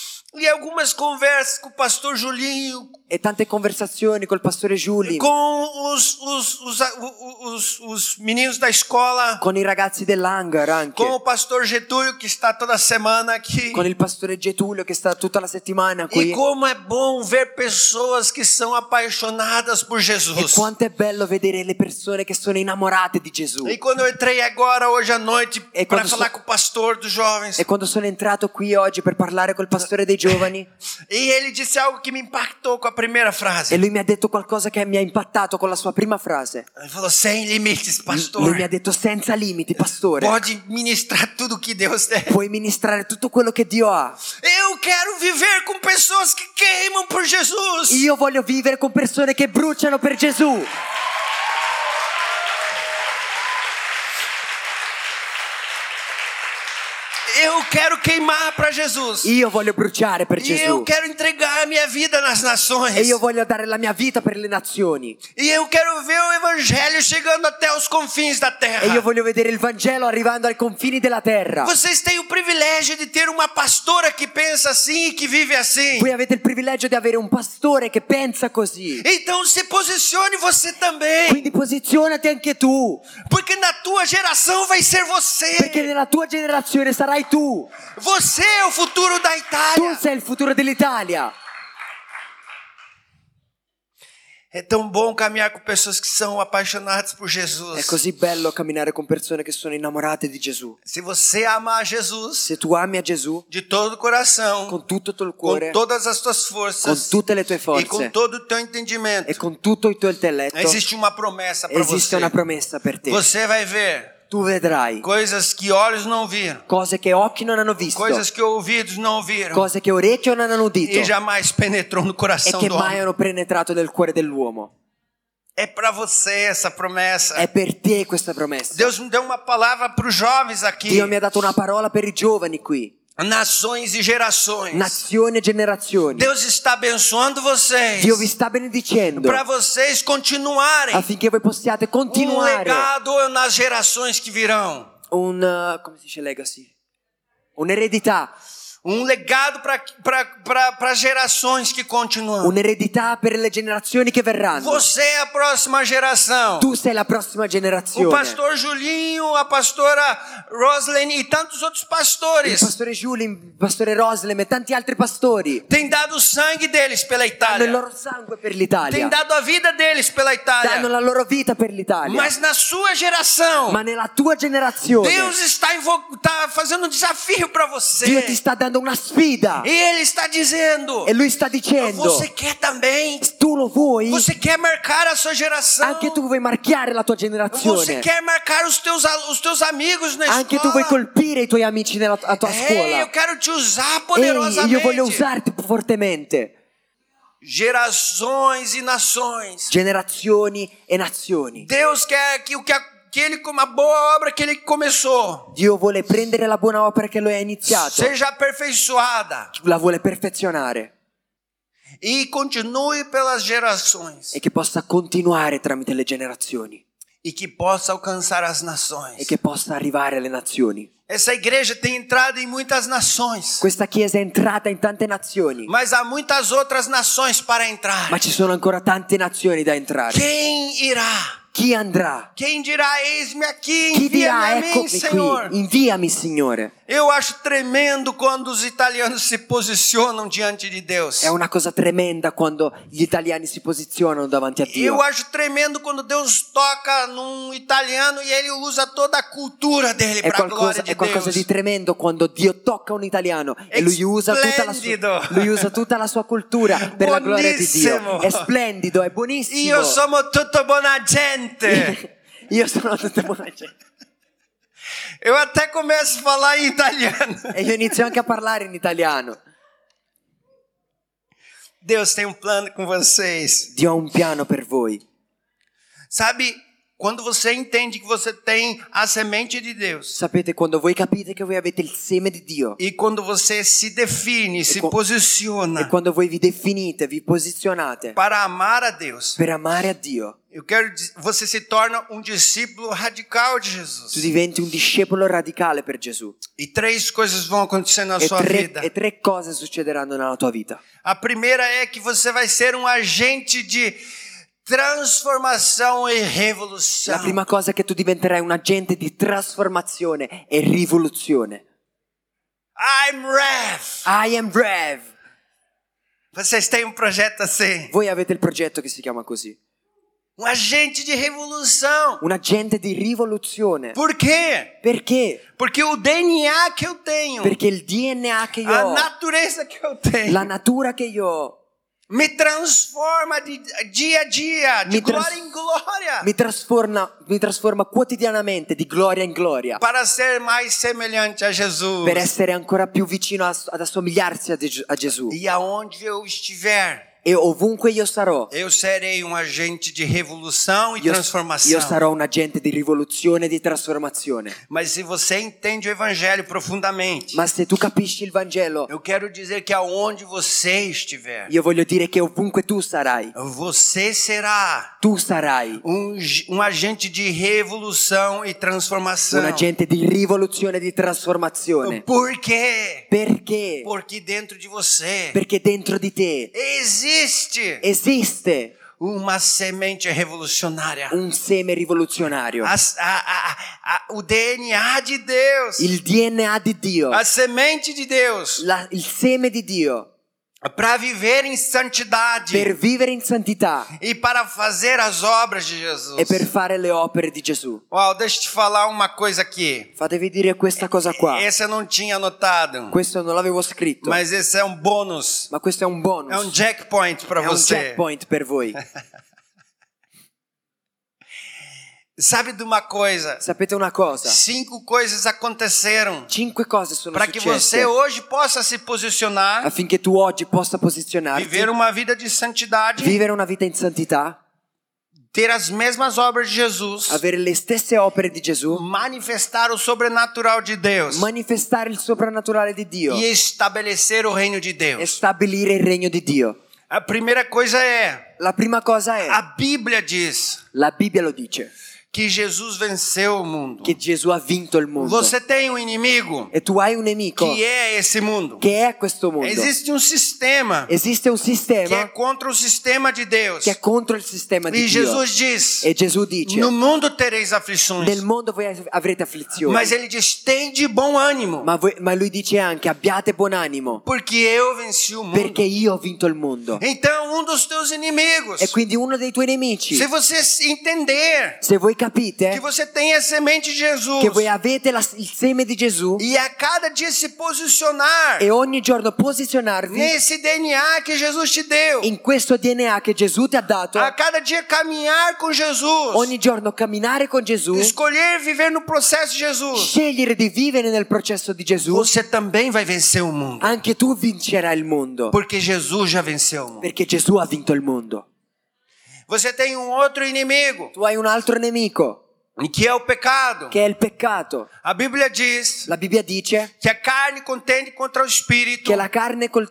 E algumas conversas com o pastor Julinho, E tante conversazioni col pastore Giuli, com os, os, os, os, os meninos da escola, con i ragazzi dell'hangar anche, com o pastor Getúlio, que está toda semana aqui. con il pastore Getulio che sta tutta la settimana E qui. como é bom ver pessoas que são apaixonadas por E Jesus. quanto è bello vedere le persone che sono innamorate di Gesù. E quando eu entrei agora, hoje à noite, E para quando falar so- com o pastor dos jovens, E quando sono entrato qui oggi per parlare col pastore dei giovani, e ele disse algo que me impactou com a primeira frase. e lui mi ha detto qualcosa che mi ha impattato con la sua prima frase. Ele falou: sem limites, pastor. Lui mi ha detto senza limiti, pastore. Pode ministrar tudo que Deus der. Puoi ministrare tutto quello che Dio ha. Eu quero viver com pessoas que queimam por Jesus. Io voglio vivere con persone che bruciano per Gesù. Eu quero queimar para Jesus. Io voglio bruciare per E eu Gesù. quero entregar a minha vida nas nações. E io voglio dare la mia vita per le nazioni. E eu quero ver o evangelho chegando até os confins da terra. E io voglio vedere il Vangelo arrivando ai confini della terra. Vocês têm o privilégio de ter uma pastora que pensa assim e que vive assim. Voi avete il privilegio di avere un pastore che pensa così. Então se posicione você também. Quindi posizionati anche tu. Porque na tua geração vai ser você. Perché nella tua generazione sarai tu. Você é o futuro da Tu Itália. sei il futuro dell'Italia. É tão bom caminhar com pessoas que são apaixonadas por Jesus. È così bello camminare con persone che sono innamorate di Gesù. Se você amar Jesus Se tu ami a Gesù de todo o coração, con tutto il tuo com cuore, todas as tuas con forças tutte le tue e com forze todo o teu entendimento, e con tutto il tuo intelletto, existe uma promessa para esiste você. una promessa per te. Você vai ver Tu vedrai coisas que olhos não viram, cose che occhi non hanno visto, coisas que ouvidos não ouviram cose che orecchie non hanno udito e jamais penetrou no e coração che do mai homem. hanno penetrato nel cuore dell'uomo. É para você essa promessa. È per te questa promessa. Deus me deu uma palavra para os jovens aqui. Dio mi ha dato una parola per i giovani qui. nações e gerações. nazioni e generazioni. Deus está abençoando vocês Dio vi sta benedicendo para vocês continuarem affinché voi possiate um continuare legado nas gerações que virão. un, uh, come si dice legacy? Un'eredità. Um legado para gerações que continuam. Un'eredità per le generazioni che verranno. Você é a próxima geração. Tu sei la prossima generazione. O pastor Julinho, a pastora Roslene e tantos outros Il pastores pastore Giulio, il pastore Roslem e tanti altri pastori têm dado o sangue deles pela danno il Itália. loro sangue per l'Italia. Têm dado a vida deles pela Danno Itália. la loro vita per l'Italia. Mas na sua geração, Ma nella tua generazione Deus está, invo- está fazendo um desafio para Dio você. ti sta dando una sfida E Ele está dizendo: e lui sta dicendo: você quer também? tu lo vuoi? Você quer marcar a sua geração? Anche tu vuoi marchiare la tua Você generazione. quer marcar os teus, os teus amigos na Anche tu vuoi escola? colpire i tuoi amici nella a tua Ei, scuola. eu quero te usar Ehi, poderosamente. io voglio usarti fortemente. Gerações e nações. Generazioni e nazioni. Deus quer que o que, a, que ele com uma boa obra que ele começou Dio vuole prendere la buona opera che lui ha iniziato, seja aperfeiçoada la vuole perfezionare e continue pelas gerações e che possa continuare tramite le generazioni e que possa alcançar as e nações. che possa arrivare alle nazioni. Essa igreja tem entrado em muitas nações, Questa chiesa è entrata in tante nazioni, mas há muitas outras nações para entrar. ma ci sono ancora tante nazioni da entrare. Quem irá? Chi andrà? Quem dirá, eis-me aqui, Chi dirà, envia-me a mim, eccomi Senhor. qui, inviami Signore. Eu acho tremendo quando os italianos se posicionam diante de Deus. È una cosa tremenda quando gli italiani si posizionano davanti a Dio. Eu acho tremendo quando Deus toca num italiano e ele usa toda a cultura dele È para a glória qualcosa, de è qualcosa Deus. di tremendo quando Dio tocca un italiano e lui usa tutta la Splendido. sua, lui usa tutta la sua cultura per la gloria di Dio. Buonissimo. È splendido, è buonissimo. Io sono tutto buona gente. Io sono tutta buona gente. Eu até começo a falar em italiano. E io inizio anche a parlare in italiano. Deus tem um plano com vocês. Dio ha un piano per voi. Sabe, quando você entende que você tem a semente de Deus Sapete, quando voi capite che voi avete il seme di Dio e quando você se define, se qua- e posiciona quando voi vi definite, vi posizionate para amar a Deus, per amare a Dio, eu quero dizer, você se torna um discípulo radical de tu Jesus. diventi un discepolo radicale per Gesù. E três coisas vão acontecer na E sua tre, vida. e tre cose succederanno nella tua vita. A primeira é que você vai ser um agente de transformação e revolução. La prima cosa è che tu diventerai un agente di trasformazione e rivoluzione. I'm Rev. I am Rev. Vocês têm um projeto assim. Voi avete il progetto che si chiama così. Um agente de revolução. Un agente di rivoluzione. Por quê? Perché? Porque o D N A que eu tenho, Perché il D N A che io a ho, natureza que eu tenho, la natura che io ho, me transforma de dia a dia, de Mi trans- glória em glória, mi trasforma, mi trasforma quotidianamente di gloria in gloria para ser mais semelhante a Jesus. per essere ancora più vicino a- ad assomigliarsi a, De- a Gesù. E aonde eu estiver, E ovunque io sarò, eu serei um agente de revolução e io, transformação. io sarò un agente di rivoluzione e di trasformazione. Mas se você entende o evangelho profundamente, Ma se tu capisci il Vangelo, eu quero dizer que aonde você estiver, io voglio dire che ovunque tu sarai, você será tu sarai um, um agente de revolução e transformação. un agente di rivoluzione e di trasformazione. Por quê? Perché? Porque dentro de você Perché dentro di te existe esiste uma semente revolucionária. un seme rivoluzionario, A- a- a- a- o D N A de Deus, il D N A di Dio, a semente de Deus, la- il seme di Dio para viver em santidade per vivere in santità e para fazer as obras de Jesus. e per fare le opere di Gesù. Uau, deixa eu te falar uma coisa aqui. Fatevi dire questa cosa qua. Essa eu não tinha anotado, Questo non l'avevo scritto, mas esse é um bônus. ma questo è un bonus. É um jackpoint para È un você. checkpoint per voi. Sabe de uma coisa? Sapete una cosa? Cinco coisas aconteceram Cinque cose sono para que successe você hoje possa se posicionar, affinché tu oggi possa posizionarti, viver uma vida de santidade, vivere una vita in santità, ter as mesmas obras de Jesus, avere le stesse opere di Gesù, manifestar o sobrenatural de Deus manifestare il soprannaturale di Dio e estabelecer o reino de e Deus. stabilire il regno di Dio. A primeira coisa é, La prima cosa è, a Bíblia diz la Bibbia lo dice, que Jesus venceu o mundo. che Gesù ha vinto il mondo. Você tem um inimigo E tu hai un nemico que é esse mundo. che è questo mondo. Existe um sistema Esiste un que é sistema contra o sistema de Deus. che è contro il sistema di E Dio. Jesus diz: E Gesù dice, no mundo tereis aflições. nel mondo voi avrete afflizioni. Mas ele diz: tem de bom ânimo, Ma, voi- ma lui dice anche, abbiate buon animo, porque eu venci o mundo. perché io ho vinto il mondo. Então, um dos teus inimigos, E quindi uno dei tuoi nemici, se você entender se voi capite que você tem a semente de Jesus che voi avete la- il seme di Gesù e a cada dia se posicionar e ogni giorno posizionarvi nesse D N A que Jesus te deu, in questo D N A che Gesù ti ha dato, a cada dia caminhar com Jesus, ogni giorno camminare con Gesù, escolher viver no processo de Jesus, scegliere di vivere nel processo di Gesù, você também vai vencer o mundo, anche tu vincerai il mondo, porque Jesus já venceu o mundo. perché Gesù ha vinto il mondo. Você tem um outro inimigo, Tu hai un altro nemico, que é o pecado. che è il peccato. A Bíblia diz La Bibbia dice que a carne contende contra o espírito, che la carne col-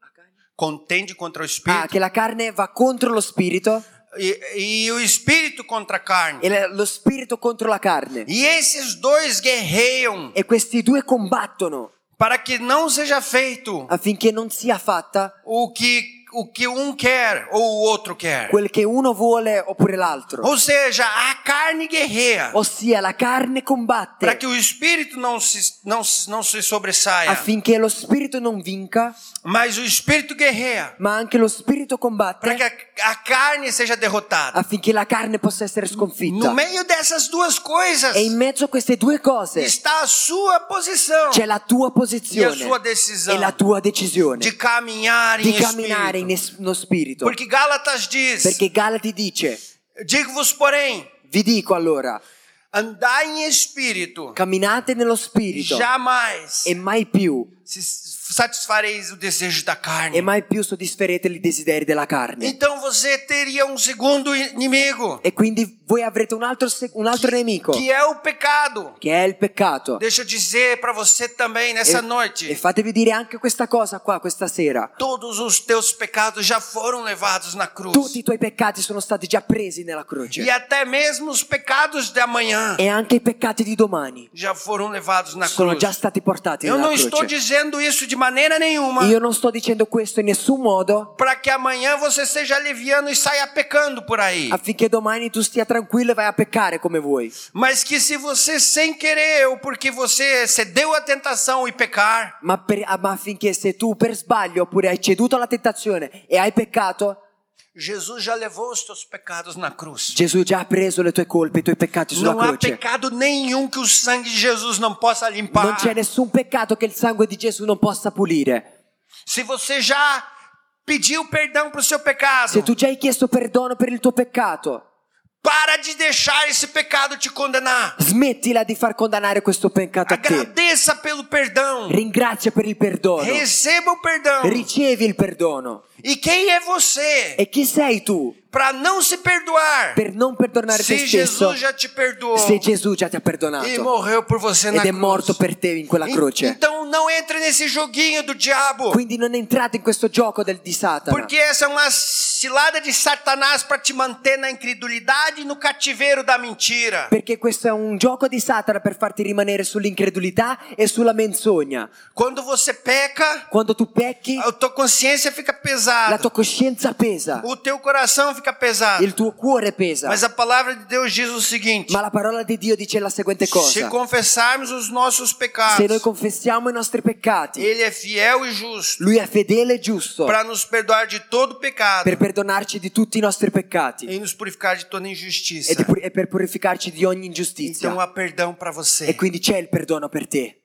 contende contra o ah, espírito, che la carne va contro lo spirito e, e o espírito contra a carne. e la- lo spirito contro la carne. E esses dois guerreiam E questi due combattono para que não seja feito affinché non sia fatta o que o que um quer ou o outro quer. quel che uno vuole oppure l'altro. Ou seja, a carne guerreia Ossia la carne para combatte que o espírito não se não, se- não se sobressaia, affinché lo spirito non vinca, mas o espírito guerreia ma anche lo spirito para combatte que a, a carne seja derrotada. affinché la carne possa essere No sconfitta. meio dessas duas coisas E in mezzo a queste due cose está a sua posição c'è la tua e a posizione sua decisão e la tua decisione de caminhar di em camminare espírito. in es- no spirito. Porque Gálatas diz: Perché Galati dice, digo-vos, porém, vi dico allora, andai em espírito, camminate nello spirito jamais e mai più, se satisfareis o desejo da carne. e mai più soddisferete i desideri della carne. Então você teria um segundo inimigo, E quindi voi avrete un altro, se- un altro nemico, que é o pecado. che è il peccato. Deixa eu dizer para você também nessa E, e noite: fatevi dire anche questa cosa qua, questa sera. todos os teus pecados já foram levados na cruz. Tutti i tuoi peccati sono stati già presi nella croce. E até mesmo os pecados de amanhã E anche i peccati di domani já foram levados na sono cruz. già stati portati Eu nella não estou croce. dizendo isso de maneira nenhuma Io non sto dicendo questo in nessun modo para que amanhã você seja leviano e saia pecando por aí. affinché domani tu stia tranquillo e vai a peccare come vuoi. Mas que se você sem querer ou porque você cedeu à tentação e pecar, Ma, per- ah, ma affinché se tu per sbaglio oppure hai ceduto alla tentazione e hai peccato, Jesus já levou os teus pecados na cruz. Gesù già ha preso le tue colpe, i tuoi peccati sulla Não há croce. pecado nenhum que o sangue de Jesus não possa limpar. Non c'è nessun peccato che il sangue di Gesù non possa pulire. Se você já pediu perdão para o seu pecado, Se tu già hai chiesto perdono per il tuo peccato, para de deixar esse pecado te condenar. smettila di far condannare questo peccato a te. Agradeça pelo perdão. Ringrazia per il perdono. Receba o perdão. Ricevi il perdono. E quem é você E chi sei tu para não se perdoar per non perdonare te se stesso Jesus já te perdoou se Gesù già ti ha e perdonato morreu por você na ed è cruz? morto per te in quella En- croce? Então não entre nesse joguinho do diabo, Quindi non entrate in questo gioco del, di Satana, porque essa é uma cilada de Satanás para te manter na incredulidade e no cativeiro da mentira. perché questo è un gioco di Satana per farti rimanere sull'incredulità e sulla menzogna. Quando você peca, Quando tu pecchi, a tua consciência fica la pesada, tua coscienza pesa, o teu coração fica pesado. il tuo cuore pesa. Mas a palavra de Deus diz o seguinte: Ma la parola di Dio dice la seguente se cosa: confessarmos os nossos se noi pecados, confessiamo i nostri peccati, Ele é fiel e justo Lui è fedele e giusto para nos perdoar de todo pecado per perdonarci di tutti i nostri peccati e nos purificar de toda e, injustiça. di pur- e per purificarci di ogni ingiustizia. Então há perdão para você. E quindi c'è il perdono per te.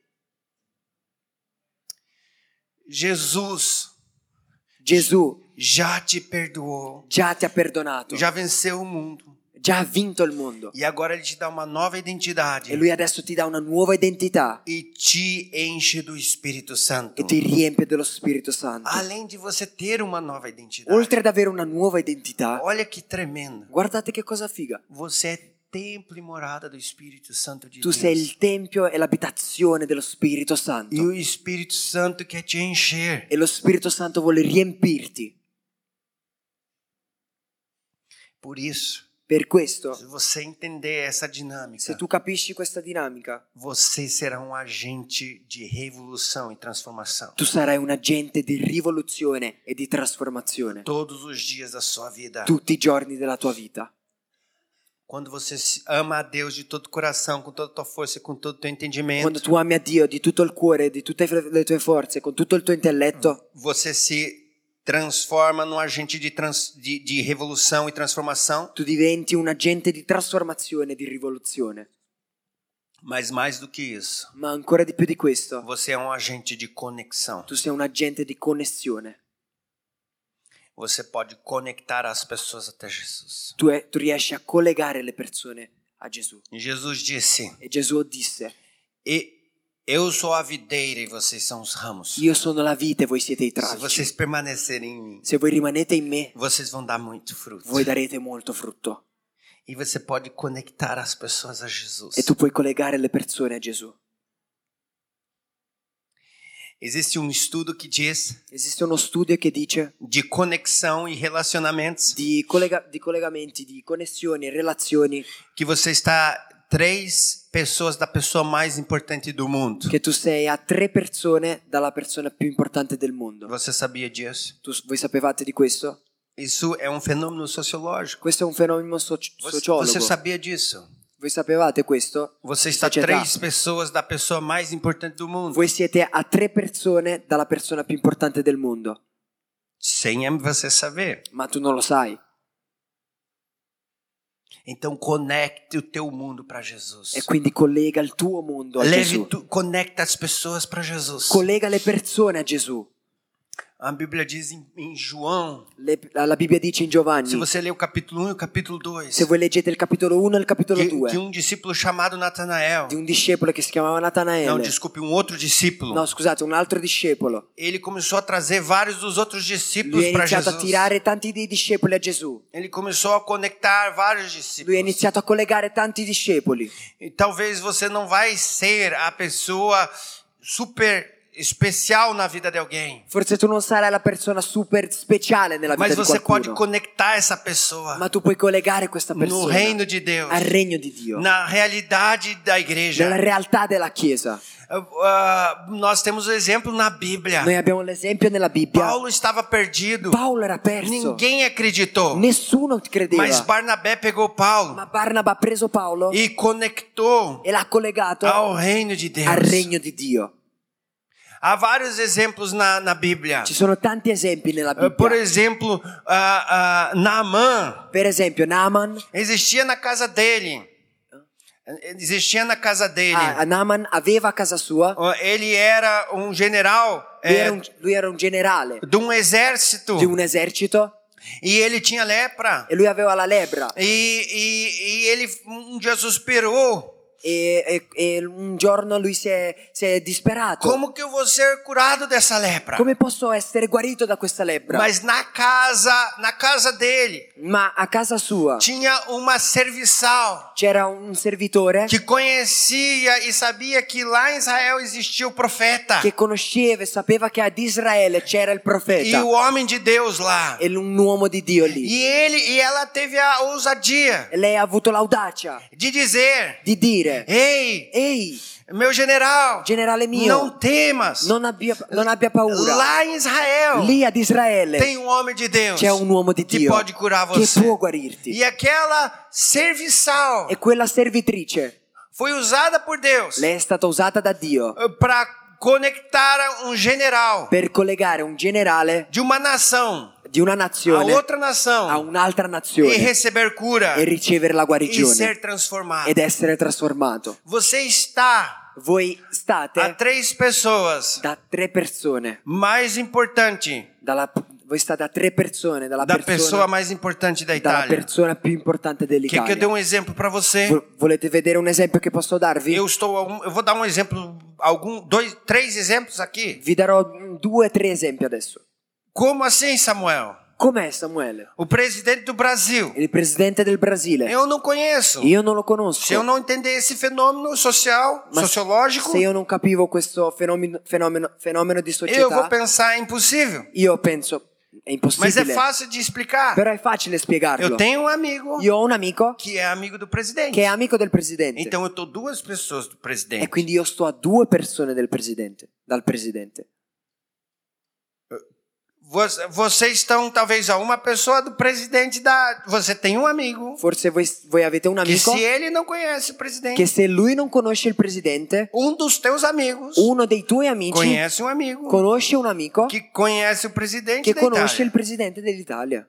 Jesus Gesù já te perdoou, già ti ha perdonato, já venceu o mundo. già ha vinto il mondo. E agora ele te dá uma nova identidade. E lui adesso ti dà una nuova identità E te enche do Espírito Santo. e ti riempie dello Spirito Santo. Além de você ter uma nova identidade. Oltre ad avere una nuova identità, Olha que tremendo. guardate che cosa figa. Você é templo e morada do Espírito Santo de Tu Deus. sei il tempio e l'abitazione dello Spirito Santo. E o Espírito Santo quer te encher. E lo Spirito Santo vuole riempirti. Por isso, Per questo, se você entender essa dinâmica, se tu capisci questa dinamica, você será um agente de revolução e transformação. tu sarai un agente di rivoluzione e di trasformazione Todos os dias da sua vida. tutti i giorni della tua vita. Quando você se- ama a Deus de todo o coração, com toda a tua força e com todo o teu entendimento, Quando tu ami a Dio di tutto il cuore, di tutte le tue forze, con tutto il tuo intelletto, você se transforma num agente de, trans, de, de revolução e transformação, tu diventi un agente di trasformazione e di rivoluzione. mas mais do que isso, Ma ancora di più di questo, você é um agente de conexão. tu sei un agente di connessione. Você pode conectar as pessoas até Jesus. Tu, è- tu riesci a collegare le persone a Gesù. E Jesus disse: E Gesù disse: e eu sou a videira e vocês são os ramos. io sono la vite e voi siete i Se tralci. vocês permanecerem em mim, Se voi rimanete in me, vocês vão dar muito fruto. voi darete molto frutto. E você pode conectar as pessoas a Jesus. E tu puoi collegare le persone a Gesù. Existe um estudo que diz Esiste uno studio che dice de conexão e relacionamentos di, collega- di collegamenti, di connessioni e relazioni que você está três pessoas da pessoa mais importante do mundo. che tu sei a tre persone dalla persona più importante del mondo. Você sabia disso? Tu, voi sapevate di questo? Isso é um fenômeno sociológico. Questo è un fenomeno soci- Você, sociologo. você sabia disso? Voi sapevate questo? Você está Società. três pessoas da pessoa mais importante do mundo. Voi siete a tre persone dalla persona più importante del mondo, Sem você saber. ma tu non lo sai. Então conecte o teu mundo para Jesus. E quindi collega il tuo mondo a Leve Gesù. tu, conecta as pessoas para Jesus. Collega le persone a Gesù. A Bíblia diz em, em João, Le- la Bibbia dice in Giovanni, se você ler o capítulo um e o capítulo dois, se voi leggete il capitolo uno e il capitolo que, due, que um discípulo chamado Natanael, di un discepolo che si chiamava não, Natanaele, desculpe, um outro discípulo, no scusate, un altro discepolo, ele começou a trazer vários dos outros lui discípulos ha para iniziato a Jesus. tirare tanti dei discepoli a Gesù. Ele começou a conectar vários Lui ha discípulos. iniziato a collegare tanti discepoli. E talvez você não vai ser a pessoa super especial na vida de alguém, Forse tu non sarai la persona super speciale nella vita mas di você pode qualcuno, conectar essa pessoa ma tu puoi collegare questa no persona reino de Deus, al regno di Dio, na realidade da igreja. nella realtà della Chiesa. Uh, uh, nós temos o exemplo na Bíblia. Noi abbiamo l'esempio nella Bibbia. Paulo estava perdido. Paolo era perso, Ninguém acreditou. nessuno credeva, Mas Barnabé pegou Paulo ma Barnaba ha preso Paolo e conectou e l'ha collegato ao reino de Deus. al regno di Dio. Há vários exemplos na, na Bíblia. Ci sono tanti esempi nella Uh, Por Bibbia. exemplo, uh, uh, Naamã Per esempio Naaman, existia na casa dele. Existia na casa dele. ah, Naaman aveva a casa sua, Uh, Ele era um general lui eh, era un, lui era un generale de um exército di un esercito e ele tinha lepra. e lui aveva la lebbra E, e, e ele um dia suspirou. e, e- e un giorno lui si è, si è disperato. Como que eu vou ser curado dessa lepra? Come posso essere guarito da questa lebbra? Mas na casa, na casa dele, Ma a casa sua tinha uma serviçal c'era un servitore que conhecia e sabia que lá em Israel existia o profeta che conosceva e sapeva che ad Israele c'era il e profeta o homem de Deus lá. e un uomo di Dio lì. E ele e ela teve a ousadia E lei ha avuto l'audacia de dizer: di dire: "Ei, ehi, meu general, generale mio, não temas. non abbia, non abbia paura. Lá em Israel Lì ad Israele tem um homem de Deus c'è un uomo di que Dio pode curar che você." può guarirti. E aquela serviçal E quella servitrice, foi usada por Deus lei è stata usata da Dio para conectar um general per collegare un generale de uma nação di una a nazione outra a nação un'altra e nazione receber cura e ricevere la e guarigione ser transformado. ed essere trasformato. Você está Voi a state três pessoas da tre persone mais importante dalla, Voi state a tre persone dalla da persona, pessoa mais importante da dalla Itália. persona più importante Quer que eu dell'Italia. dê um exemplo para você? Vo- Volete vedere un esempio che posso darvi? Eu estou, a um- eu vou dar um exemplo, algum, dois, três exemplos aqui. Vi darò due o tre esempi adesso. Como assim, Samuel? Com'è Samuele? O presidente do Brasil. Il presidente del Brasile. Eu não conheço. Io non lo conosco. Se eu não entender esse fenômeno social, Ma sociológico, se io non capivo questo fenomeno, fenomeno, fenomeno di eu vou società, pensar é impossível. io penso è Mas é impossibile. fácil de explicar. Però è facile spiegarlo. Eu tenho um amigo Io ho un amico que é amigo do presidente. che è amico del presidente. Então eu tô duas pessoas do presidente. E quindi io sto a due persone del presidente, dal presidente. Você- Vocês estão talvez a uma pessoa do presidente da. Você tem um amigo Forse voi, voi avete un que amico se ele não conhece o presidente, che se lui non conosce il presidente, um dos teus amigos uno dei tuoi amici conhece um amigo conosce un amico que conhece o presidente che da conosce il Itália. presidente dell'Italia.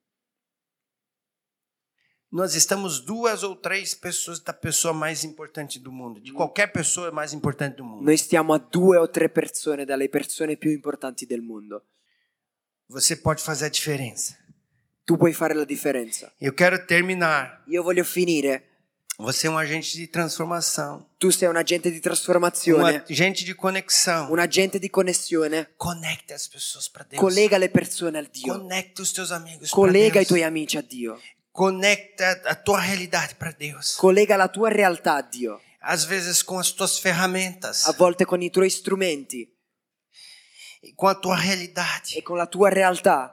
Nós estamos duas ou três pessoas da pessoa mais importante do mundo, de qualquer pessoa mais importante do mundo. Noi stiamo a due o tre persone dalle persone più importanti del mondo. Você pode fazer a diferença. Tu puoi fare la differenza. Eu quero terminar. Io voglio finire. Você é um agente de transformação, Tu sei un agente di um trasformazione, agente de conexão. un agente di connessione. Conecta as pessoas para Deus. Collega le persone al Dio. Conecta os teus amigos para Collega i Deus. tuoi amici a Dio. Conecta a tua realidade para Deus. Collega la tua realtà a Dio. Às vezes com as tuas ferramentas, A volte con i tuoi strumenti com a tua realidade. e con la tua realtà.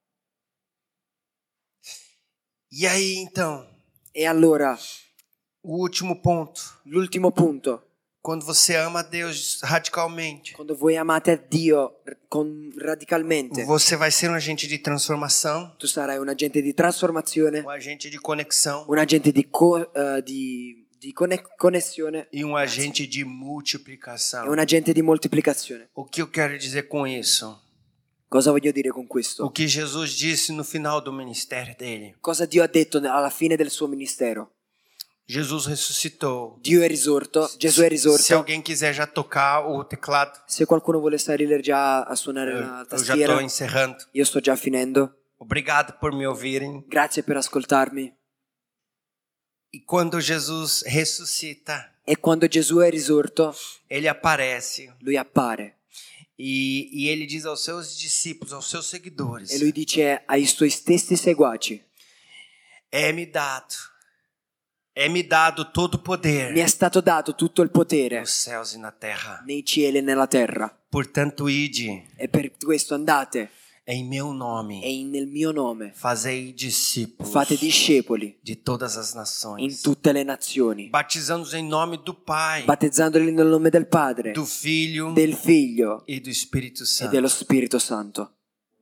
E aí então, E allora, o último ponto. l'ultimo punto. Quando você ama a Deus radicalmente, Quando voi amate a Dio con, radicalmente, você vai ser um agente de transformação, tu sarai un agente di trasformazione, um agente de conexão un agente di, co- eh, di, di conne- connessione e um agente de e multiplicação. un agente di moltiplicazione. O que eu quero dizer com isso? Cosa voglio dire con O questo? que Jesus disse no final do ministério dele. Cosa Dio ha detto alla fine del suo ministero? Jesus ressuscitou. Dio è risorto, Gesù è Se risorto. alguém quiser já tocar o teclado, Se qualcuno vuole salire già a suonare la eu já tastiera, estou encerrando. io sto già finendo. Obrigado por me ouvirem. Grazie per ascoltarmi. E quando Jesus ressuscita, E quando Gesù è risorto, ele aparece lui appare e, e ele diz aos seus discípulos, aos seus seguidores: e lui dice ai suoi stessi seguaci: É-me dado, é-me dado todo o poder mi è stato dato tutto il potere nos céus e na terra. nei cieli e nella terra. Portanto, ide E per questo andate em meu nome, e in- nel mio nome fazei discípulos fate discepoli de todas as in nações, tutte le nazioni, batizando-os em nome do Pai, battezzandoli nel nome del Padre, do Filho del Figlio e do Espírito e Santo. dello Spirito Santo.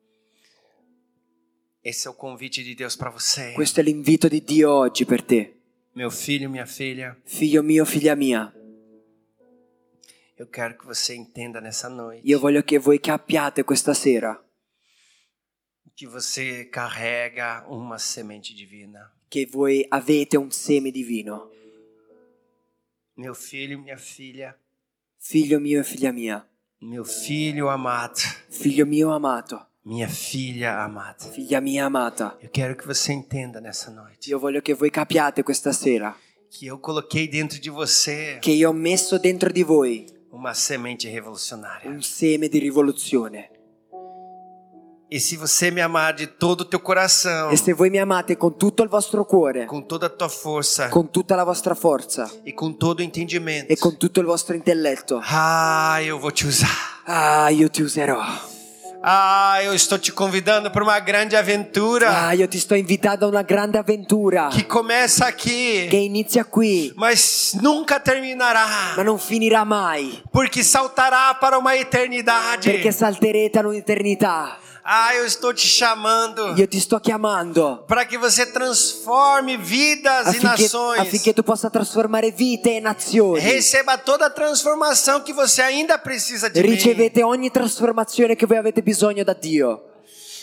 Esse é o convite de Deus para você. Questo è l'invito di Dio oggi per te. Meu filho, minha filha, Figlio mio, figlia mia, eu quero que você entenda nessa noite io voglio che voi capiate questa sera que você carrega uma semente divina. che voi avete un seme divino. Meu filho, minha filha, Figlio mio e figlia mia, meu filho amado, figlio mio amato, minha filha amada. figlia mia amata. Eu quero que você entenda nessa noite Io voglio che voi capiate questa sera que eu coloquei dentro de você che io ho messo dentro di voi uma semente revolucionária. un seme di rivoluzione. E se você me amar de todo o teu coração, E se voi mi amate con tutto il vostro cuore, com toda a tua força con tutta la vostra forza e com todo o entendimento, e con tutto il vostro intelletto, ah, eu vou te usar. ah, io ti userò. Ah, eu estou te convidando para uma grande aventura Ah, io ti sto invitando a una grande avventura que começa aqui, che inizia qui, mas nunca terminará, ma non finirà mai, porque saltará para uma eternidade. perché salterete all'eternità. Ah, eu estou te chamando Io ti sto chiamando para que você transforme vidas e affinché, nações. affinché tu possa trasformare vite e nazioni. Receba toda a transformação que você ainda precisa de mim. Ricevete ogni trasformazione che voi avete bisogno da Dio.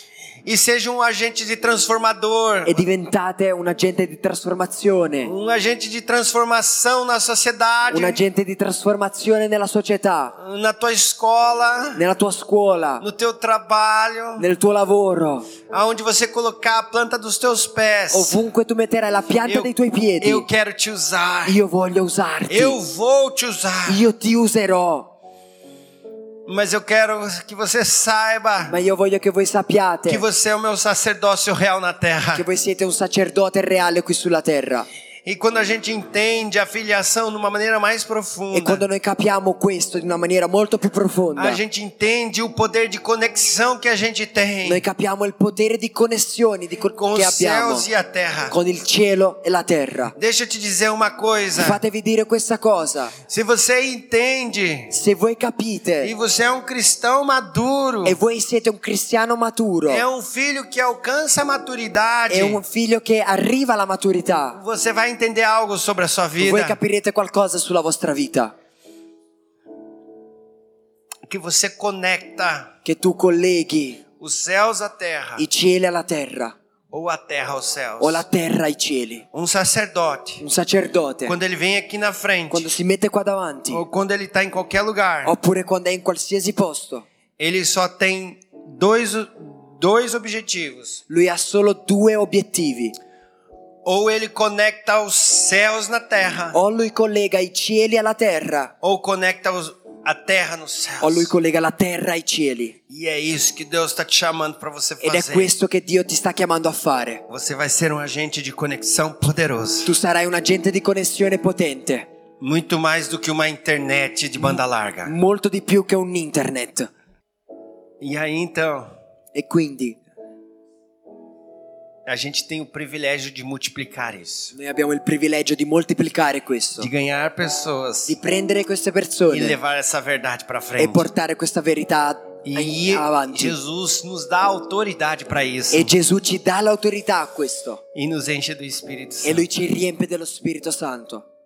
e seja um agente de transformador. e diventate un agente di trasformazione, Um agente de transformação na sociedade, un agente di trasformazione nella società, na tua escola, nella tua scuola, no teu trabalho, nel tuo lavoro, aonde você colocar a planta dos teus pés. ovunque tu metterai la pianta Eu, dei tuoi piedi. eu quero te usar. Io voglio usarti, Eu vou te usar. io ti userò, Mas eu quero que você saiba ma io voglio che voi sappiate que você é o meu sacerdócio real na terra. che voi siete un sacerdote reale qui sulla terra. E quando a gente entende a filiação de uma maneira mais E profunda, quando noi capiamo questo di una maniera molto più profonda, a gente entende o poder de conexão que a gente tem noi capiamo il potere di connessioni di co- com che os abbiamo céus e a terra. con il cielo e la terra. Deixa eu te dizer uma coisa. Fatevi dire questa cosa: Se você entende se voi e capite você é um cristão maduro, e voi siete un cristiano maturo, é um filho que alcança a maturidade, è un figlio che arriva alla maturità, você vai entender algo sobre a sua voi vida. capirete qualcosa sulla vostra vita, Que você conecta che tu colleghi os céus à terra i cieli alla terra ou a terra aos céus. o la terra ai cieli. Um sacerdote, Un sacerdote, quando ele vem aqui na frente, quando si mette qua davanti, ou quando ele está em qualquer lugar, oppure quando è in qualsiasi posto, ele só tem dois, dois objetivos. lui ha solo due obiettivi: Ou ele conecta os céus na terra, o lui collega i cieli alla terra, ou conecta os, a terra nos céus. o lui collega la terra ai cieli. E é isso que Deus está te chamando para você Ed è fazer. questo che Dio ti sta chiamando a fare. Você vai ser um agente de conexão poderoso. Tu sarai un agente di connessione potente, Muito mais do que uma internet de banda larga. molto di più che un internet. E aí então, E quindi a gente tem o privilégio de multiplicar isso. noi abbiamo il privilegio di moltiplicare questo, De ganhar pessoas di prendere queste e persone levar essa verdade para e frente. portare questa verità E avanti. Jesus nos dá autoridade para isso. E Gesù ci dà l'autorità a questo E nos enche do Espírito e Santo. Lui ci riempie dello Spirito Santo.